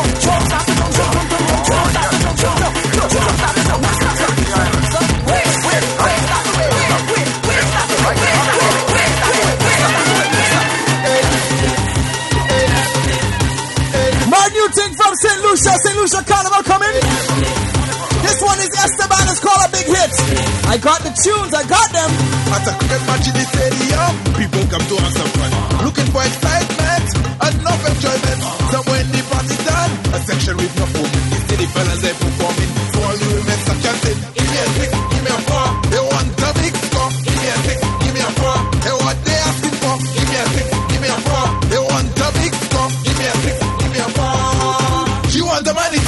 My new thing from Saint Lucia, Saint Lucia Carnival coming. This one is Esteban, it's called a big hit. I got the tunes, I got them. At a cricket match in the stadium, people come to have some fun, looking for excitement and enough enjoyment. So when the party's done, a section with no food, you see the fellas they performing. For all you women, some chanting. Give me a six, give me a four. They want the big score. Give me a six, give me a four. Hey, what they asking for? Give me a six, give me a four. They want the big score. Give me a six, give me a four. She want the money,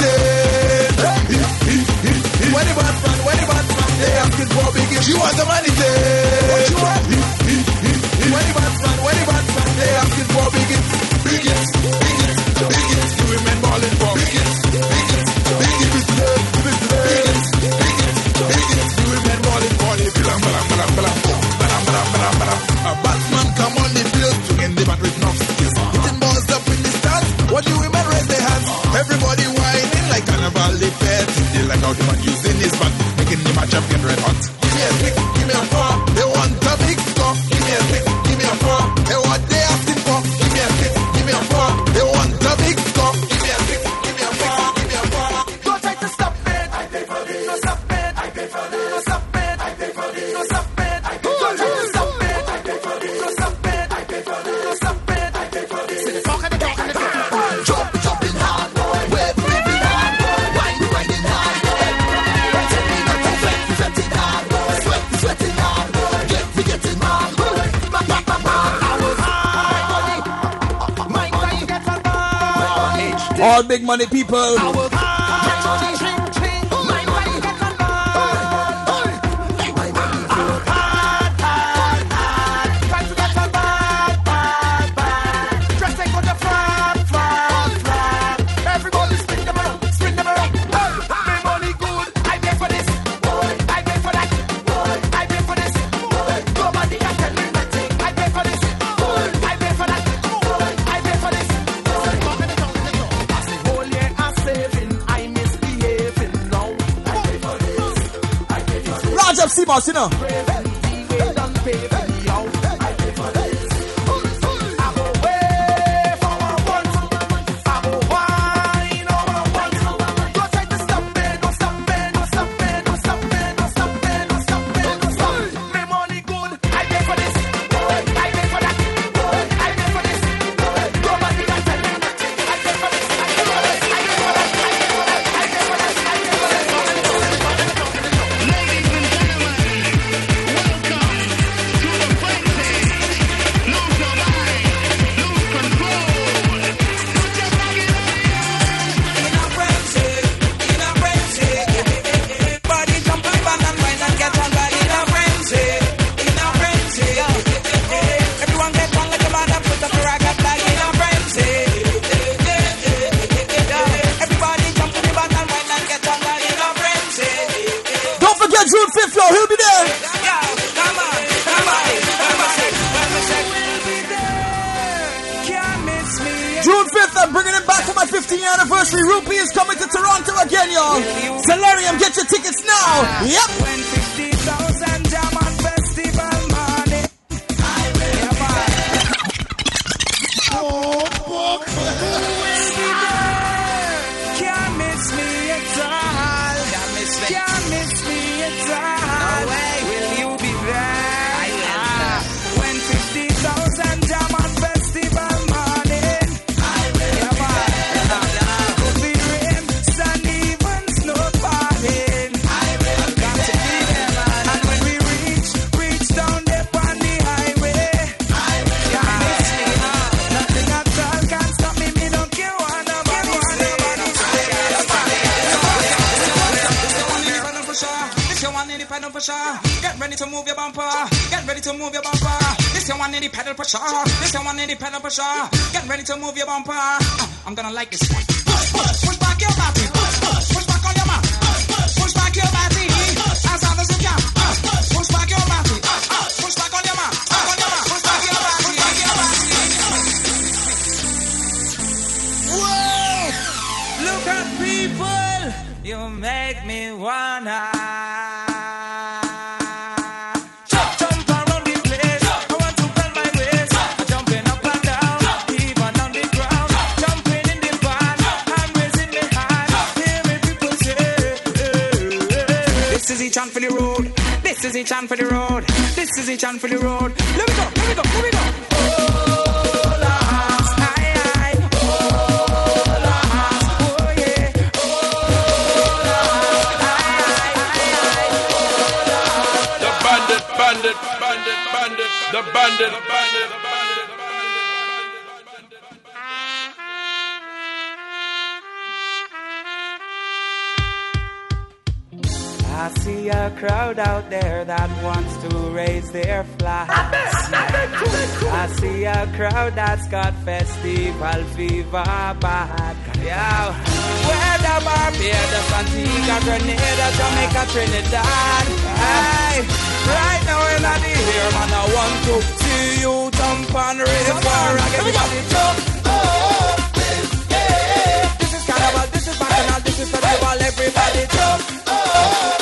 when the bad man, when the bad man, they asking for biggie. She want the money, what you want? When the bad man, when the bad man, they asking for biggie. Biggest, biggest, biggest, you women balling for biggest, biggest, biggest, biggest, biggest, biggest, you women balling for the bilam, balam, balam, balam, balam, balam, balam, balam. A Batman come on the field to end the bat with no skills. Hitting balls up in the stands, what you women raise their hands. Everybody whining like carnival the fed. They like how the man using his back, making the match up get red hot. Give me a six, give me a four. They want a big score. Give me a six, give me a four. Hey, what they asking for? Give me a six, give me a four. They want a big score. Give me a six, give me a four, give me a four. Don't try to stop it. I pay for this. No stop it. I pay for this. No stop it. I pay for this. No stop it. I pay for this. Don't try to stop it. I pay for this. No stop it. I pay for this. No stop it. I pay for this. See the fuck and the fuck and the fuck. Jump, jumping hard, boy. Wave, waving hard, boy. Wine, winding hard, boy. Tell me not to flex, sweating hard, boy. Sweat, sweating hard, boy. Get me getting hard, boy. Ma, ma, ma, ma. I was high money. My money gets on board. All big money people. I was high money. My money gets on board. My money hard, hard, hard. Try to get on board, board, board. Dressing for the front, front, front. Everybody spin them around, spin them around. My money good. I pay for this. I pay for that. I pay for this. Nobody can tell me nothing. I pay for this. I pay for that. I pay for this. As the whole year I'm saving, I misbehaving now. I pay for this. I pay for this. Large up C-Boss, you know. They done pay for me out. I pay for this. I go way for one want. I go wine over one. Don't try to stop me, don't stop me, don't stop me, don't stop me, don't stop me, don't stop me, don't stop me. My money good, I pay for this. I pay for that. I pay for this. Nobody can tell me nothing. I pay for this. I pay for this. I pay for that. I pay for that. I pay for that. I pay for that. Ladies and gentlemen, fiftieth anniversary. Rupee is coming to Toronto again, y'all. Solarium, get your tickets now. Yep. When fifty thousand German festival money. Oh, fuck. Can't miss me at all. Can't miss me. Can't miss me at all. No way. Will you be there? I will. Ah, when fifty thousand German festival morning. I will. Yeah, man. Could be rain, sun, even snow falling. I will. Got to be there, man. And when we reach, reach down there on the highway. I will. Can't miss me. Ah, nothing at all can stop me. Me don't care what nobody say. This your one in the pedal for sure. Get ready to move your bumper. Get ready to move your bumper. This your one in the pedal for sure. This your one in the pedal for sure. Get ready to move your bumper. Uh, I'm gonna like this one. Push, push, push back your body. Push, push, push back on your mat. Push back your body as hard as you can. Uh, push back your body. Uh, uh, push back on your mat. Back on your mat. Push back your body. Push back your body. Whoa! Got people, you make me wanna jump, jump around the place. I want to bend my waist. I'm jumping up and down, even on the ground. Jumping in the van, I'm raising my hand. Hear me people say, this is each chant for the road. This is each chant for the road. This is each chant for the road. Let me go, let me go, let me go. Bandit, bandit, bandit, the bandit, the bandit, the bandit, the bandit. I see a crowd out there that wants to raise their flag. I see a crowd that's got festival fever bad. Yeah, where the Barbados, Antigua, Grenada, Jamaica, Trinidad. Hey, right now in the here, man, I want to see you jump and river. Everybody jump. Oh, yeah. This is carnival, this is bacchanal, this is festival. Everybody jump. Oh.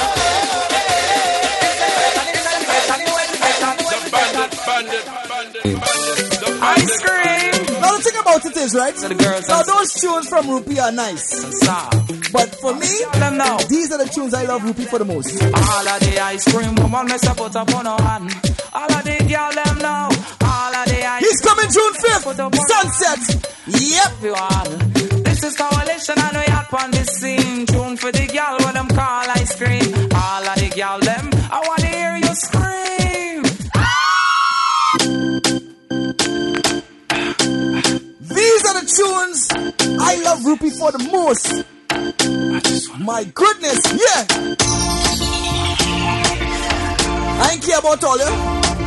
Ice cream. Now the thing about it is, right? So the girls now those tunes from Rupee are nice, but for me, these are the tunes I love Rupee for the most. All of the ice cream woman mess up put up on her hand. All of the girl them know. All of the ice. He's coming June fifth. Sunset. Yep. This is coalition and we out on the scene. Tune for the girl what them call ice cream. All of the girl them. I wanna hear you scream. These are the tunes I love Rupee for the most. My goodness, yeah. I ain't care about all you.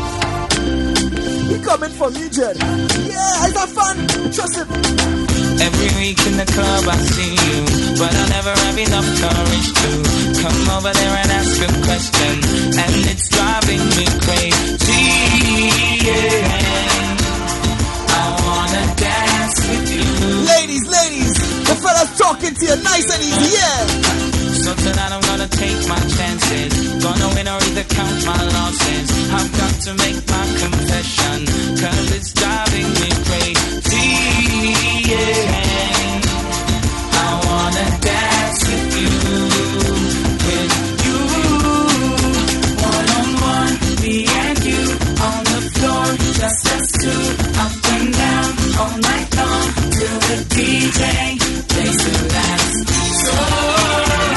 He coming for me, Jed. Yeah, I got fun. Trust him. Every week in the club I see you, but I never have enough courage to come over there and ask a question, and it's driving me crazy. Yeah. I wanna dance with you. Ladies, ladies, the fella's talking to you nice and easy, yeah. So tonight I'm gonna take my chances, gonna win or either count my losses. I've got to make my confession, cause it's driving me crazy. Yeah. I wanna dance with you, with you. One on one, me and you, on the floor, just us two. Up and down, all night long, till the D J plays the last song.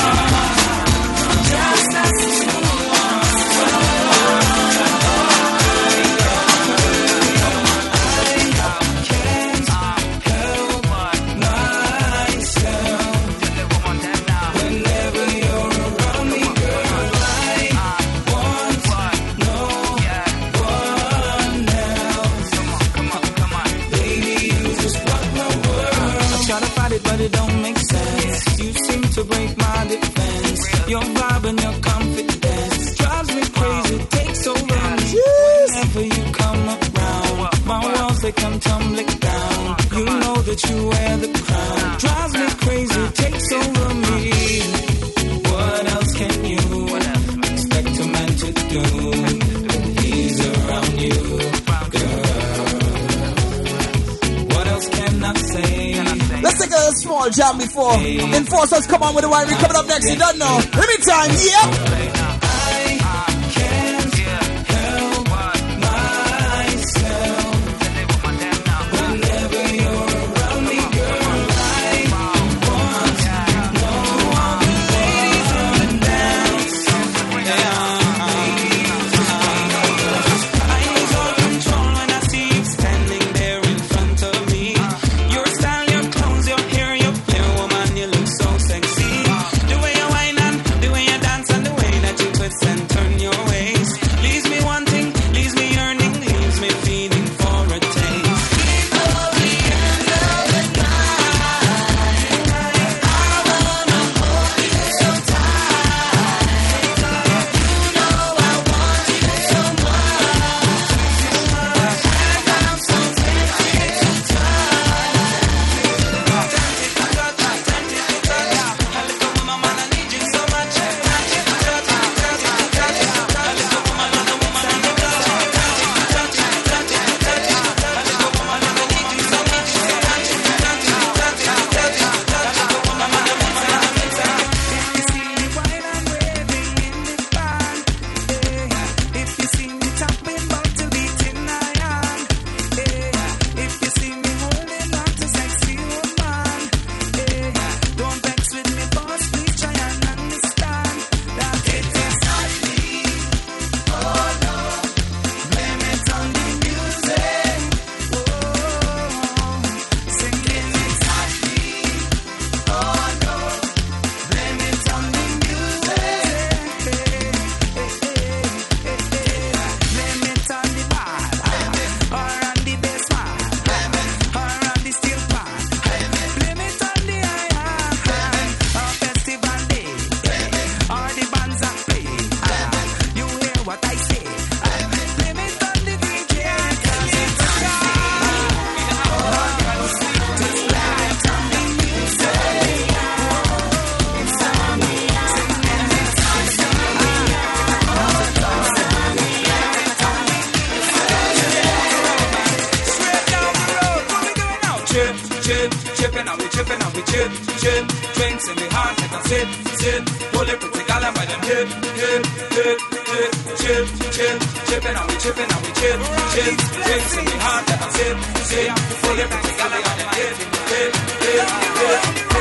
Just us two. But it don't make sense. You seem to break my defense. Your vibe and your confidence drives me crazy, takes over me. Whenever you come around, my walls they come tumbling down. You know that you wear the crown. Drives me crazy, takes over me. What else can you expect a man to do when he's around you, girl? What else can I say? Let's take a small jam before Enforcers come on with the winery coming up next. You don't know. Let me time, yep. The way you whine and the way you dance and the way that chill, drinks in me heart, let us sit, sit. Pull it pretty gal by them hip, hip, hip, hip. Chill, chill, chipping and we chipping and we chill, chill. Drinks in me heart, let us sit, sit. Pull it pretty gal by them hip, hip, hip, hip,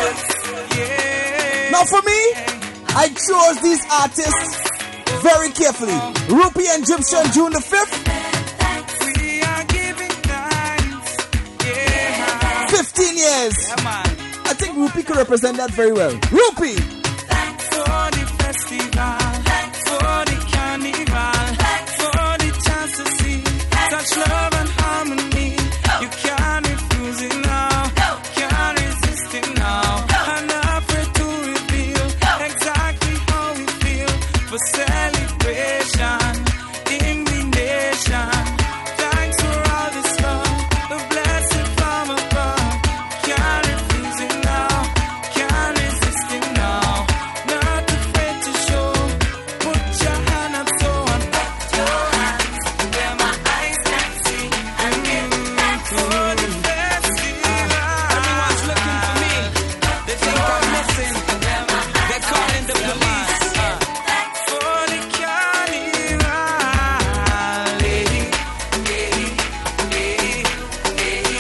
hip. Now for me, I chose these artists very carefully. Rupee and Egyptian, June the fifth. We are giving thanks, yeah. fifteen years. Yeah, man. I think Rupee could represent that very well. Rupee! For the festival, for the carnival, for the chance to see such love and harmony. You can't refuse it now, can't resist it now. I'm not afraid to reveal exactly how we feel for celebration in the nation. Thanks for all this love, the blessing from above. Can't refuse it now, can't resist it now. Not afraid to show. Put your hand up so and put your hands where my eyes can see. And you for the festival. Everyone's looking for me. They think I'm missing. They're calling the police. For the carnival. Lady, lady, lady, lady.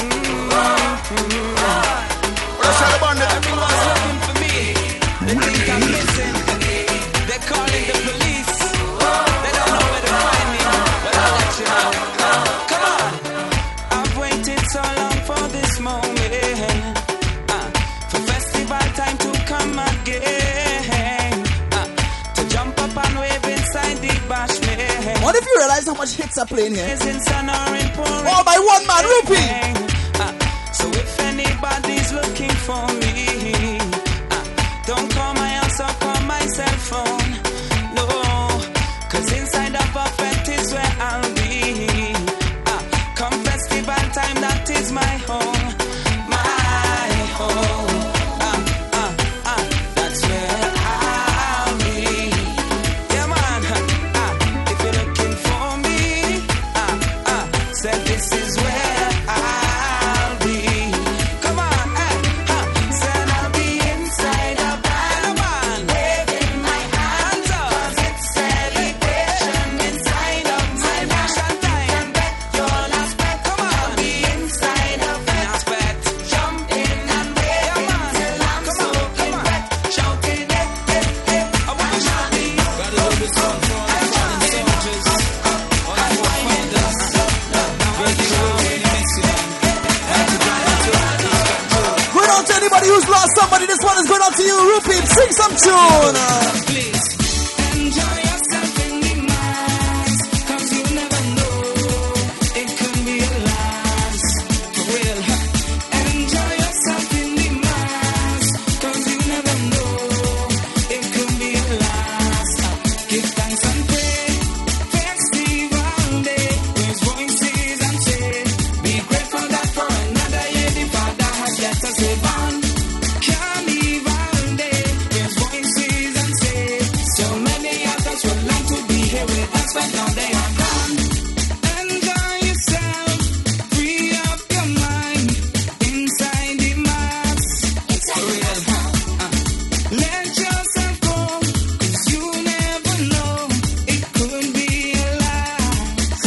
Everyone's looking for me. They think I'm missing. They're calling the police. They don't know where to find me, but I'll let you know. Come on. I've waited so long for this moment. Uh, for festival time to come again. Uh, to jump up and wave inside the bashment. What if you realize how much hits are playing here? Is in sun or in pouring All by one man, Rupee! Uh, so if anybody's looking for me, uh, don't call my house or call my cell phone. No, cause inside the buffet is where I'll be. Uh, come festival time, that is my home. My home. Uh, uh, uh, that's where I'll be. Yeah, man. Uh, if you're looking for me, uh, uh, said this is where I'll be. Come on, eh, huh. Said I'll be inside a band, waving my hands up. 'Cause it's celebration inside of my nation time. Your last bet, come on, I'll be inside of last bet. Jump in and wave till I'm soaking wet. Shouting it, it, it. I wanna shout it. Gotta do this song for all the fallen soldiers, all the forefathers. Breaking away when you miss it. Had to drive it to Going out to anybody who's lost somebody. This one is going out to you, Rupee. Sing some tune. Please enjoy yourself in the mass, 'cause you never know, it could be a last. For real, huh? Enjoy yourself in the mass, 'cause you never know, it could be a last. Give thanks and pray, festival day, raise voices and say, be grateful that for another year the Father has let us live on. Carnival day, raise voices and say, so many others would like to be here with us, but now they are gone. Enjoy yourself, free up your mind, inside the mass. For real, huh? Uh, let yourself go, 'cause you never know, it could be a last.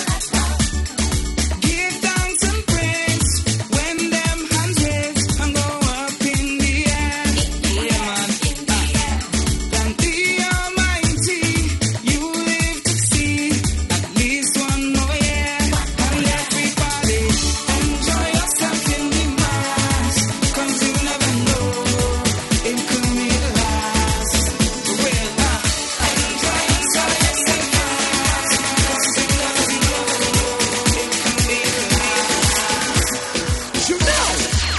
Give thanks and praise when them hands raise and go up in the air. Yeah, man. Thank the Almighty, you live to see at least one more year. And everybody, enjoy yourself in the mass, 'cause you never know, it could be the last. For real, huh? Enjoy yourself in the mass, 'cause you never know, it could be the last. You know.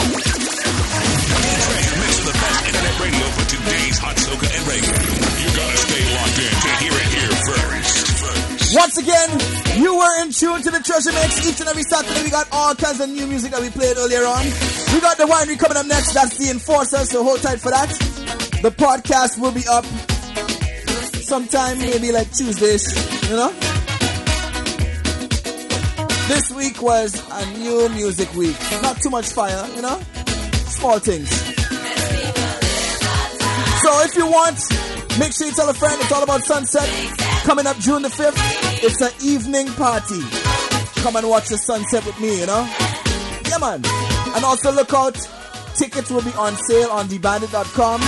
Mix of the best internet radio for today's hot soca and reggae. You gotta stay locked in to hear it here first. Once again, you were in tune to the Treasure Mix. Each and every Saturday, we got all kinds of new music that we played earlier on. We got the winery coming up next. That's the Enforcer, so hold tight for that. The podcast will be up sometime, maybe like Tuesdays, you know? This week was a new music week. Not too much fire, you know? Small things. So if you want, make sure you tell a friend. It's all about Sunset. Coming up June the fifth. It's an evening party. Come and watch the sunset with me, you know? Yeah, man. And also look out. Tickets will be on sale on the bandit dot com.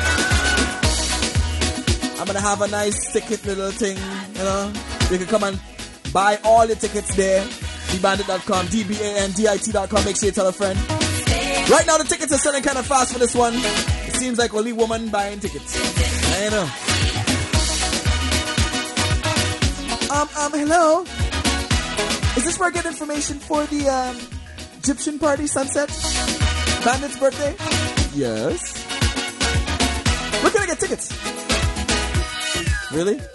I'm going to have a nice ticket little thing, you know? You can come and buy all the tickets there. the bandit dot com, D B A N D I T dot com. Make sure you tell a friend. Right now the tickets are selling kind of fast for this one. It seems like only woman buying tickets. I know. Um, um, hello? Is this where I get information for the um, Egyptian party, Sunset? Bandit's birthday? Yes. Where can I get tickets? Really?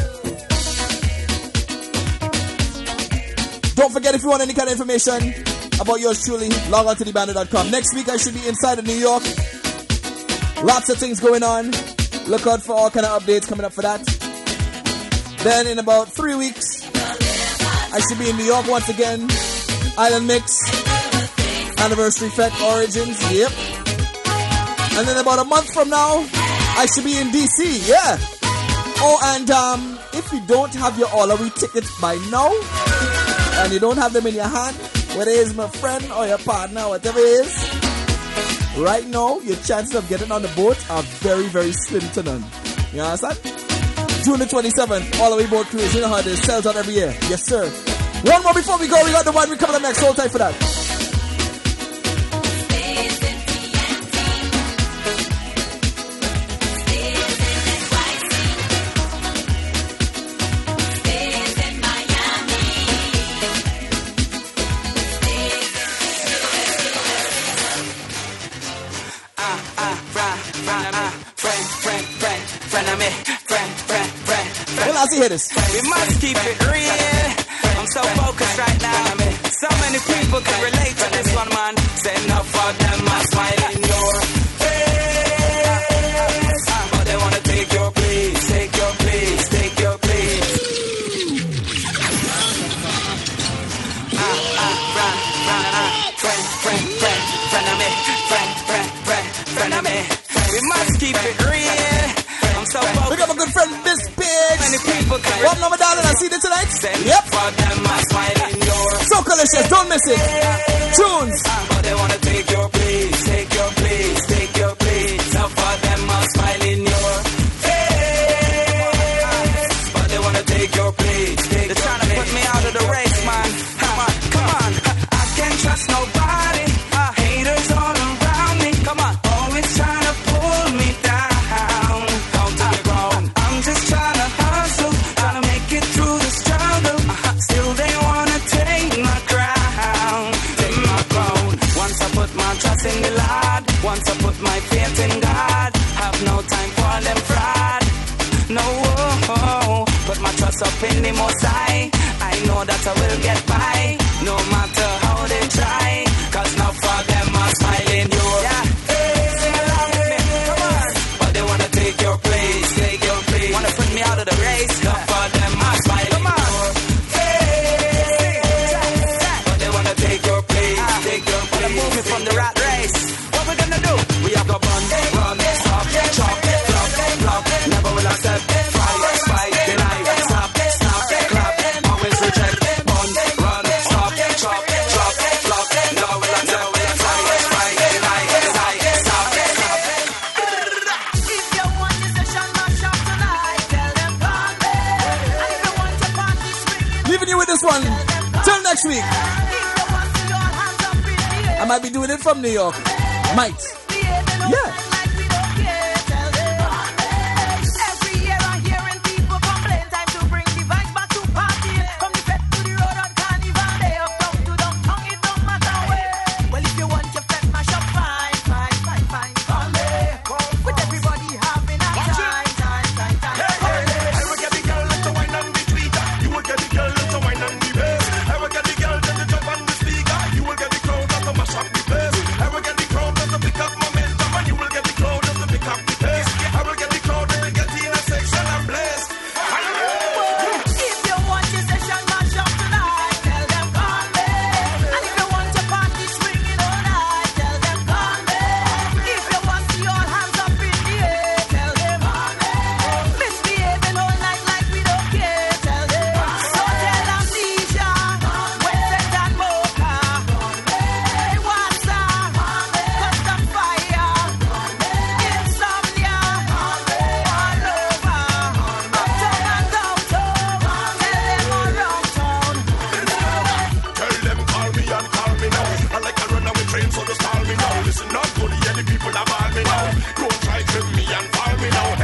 Don't forget, if you want any kind of information about yours truly, log on to the bandit dot com. Next week I should be inside of New York. Lots of things going on. Look out for all kind of updates coming up for that. Then in about three weeks, I should be in New York once again. Island Mix, Anniversary Fete Origins, yep. And then about a month from now, I should be in D C, yeah. Oh, and um, if you don't have your All-A-Wee tickets by now, and you don't have them in your hand, whether it's my friend or your partner, whatever it is, right now, your chances of getting on the boat are very, very slim to none. You understand? June the twenty-seventh, All-A-Wee boat cruise. You know how it is. Sells out every year. Yes, sir. One more before we go. We got the one we coming up next. Hold tight for that. Hear this. We must keep it real. I'm so focused right now. So many people can relate to this one, man. Say enough for them, I smile in your face. But they wanna take your place, take your place, take your place. Ah, ah, run, run, ah. Friend, friend, friend, friend of me. Friend, friend, friend, friend of me. We must keep it real. I'm so focused. We got my good friend, Miss Pigs. One number darling, I see you tonight. Yep. So delicious, don't miss it. Tunes. But they wanna take your place, take your place, take your place. Now for them I'll smile in your face. But they wanna take your place. They're trying to put me out of the race, man. Come on, come on. I can't trust nobody. Haters all around me. Come on, always trying to pull me down. Down to the ground. I'm just trying to hustle, trying to make it through the struggle. Still they wanna take my crown, take my crown. Once I put my trust in the Lord, once I put my faith in God, have no time for them fraud. No, put my trust up in the Most High. I know that I will get by, no matter how they try. Cause now for them I'm smiling you. Yeah. But they wanna take your place, take your place. Wanna put me out of the race. Now for them I'm smiling. Come on. But they wanna take your place, take your place. Wanna move me from the rat race. What we gonna do? We have to bun, run, stop, chop, flop, flop. Never will accept, fight, fight, deny, stop, stop, clap, always reject, bun, run, stop, chop, chop, flop. Never will accept, fight, fight, deny, deny, stop, stop. If you want the session mash up tonight, tell them party. And if you want your party swinging, Leaving you with this one. Till next week. I might be doing it from New York. Might. Yeah. every year I'm hearing people complain. Time to bring the vibes back to party. From the fete to the road on Carnival Day. Up down to downtown, it don't matter where. Well, if you want your fete mash up, fine, fine, fine, fine. Come there. With everybody having a time, time, time, time. I will get the girl to wine on the tweeter. You will get the girl to wine on the bass. I will get the girl to jump on the speaker. You will get the crowd to mash up the place. I will get the crowd to pick up my me now.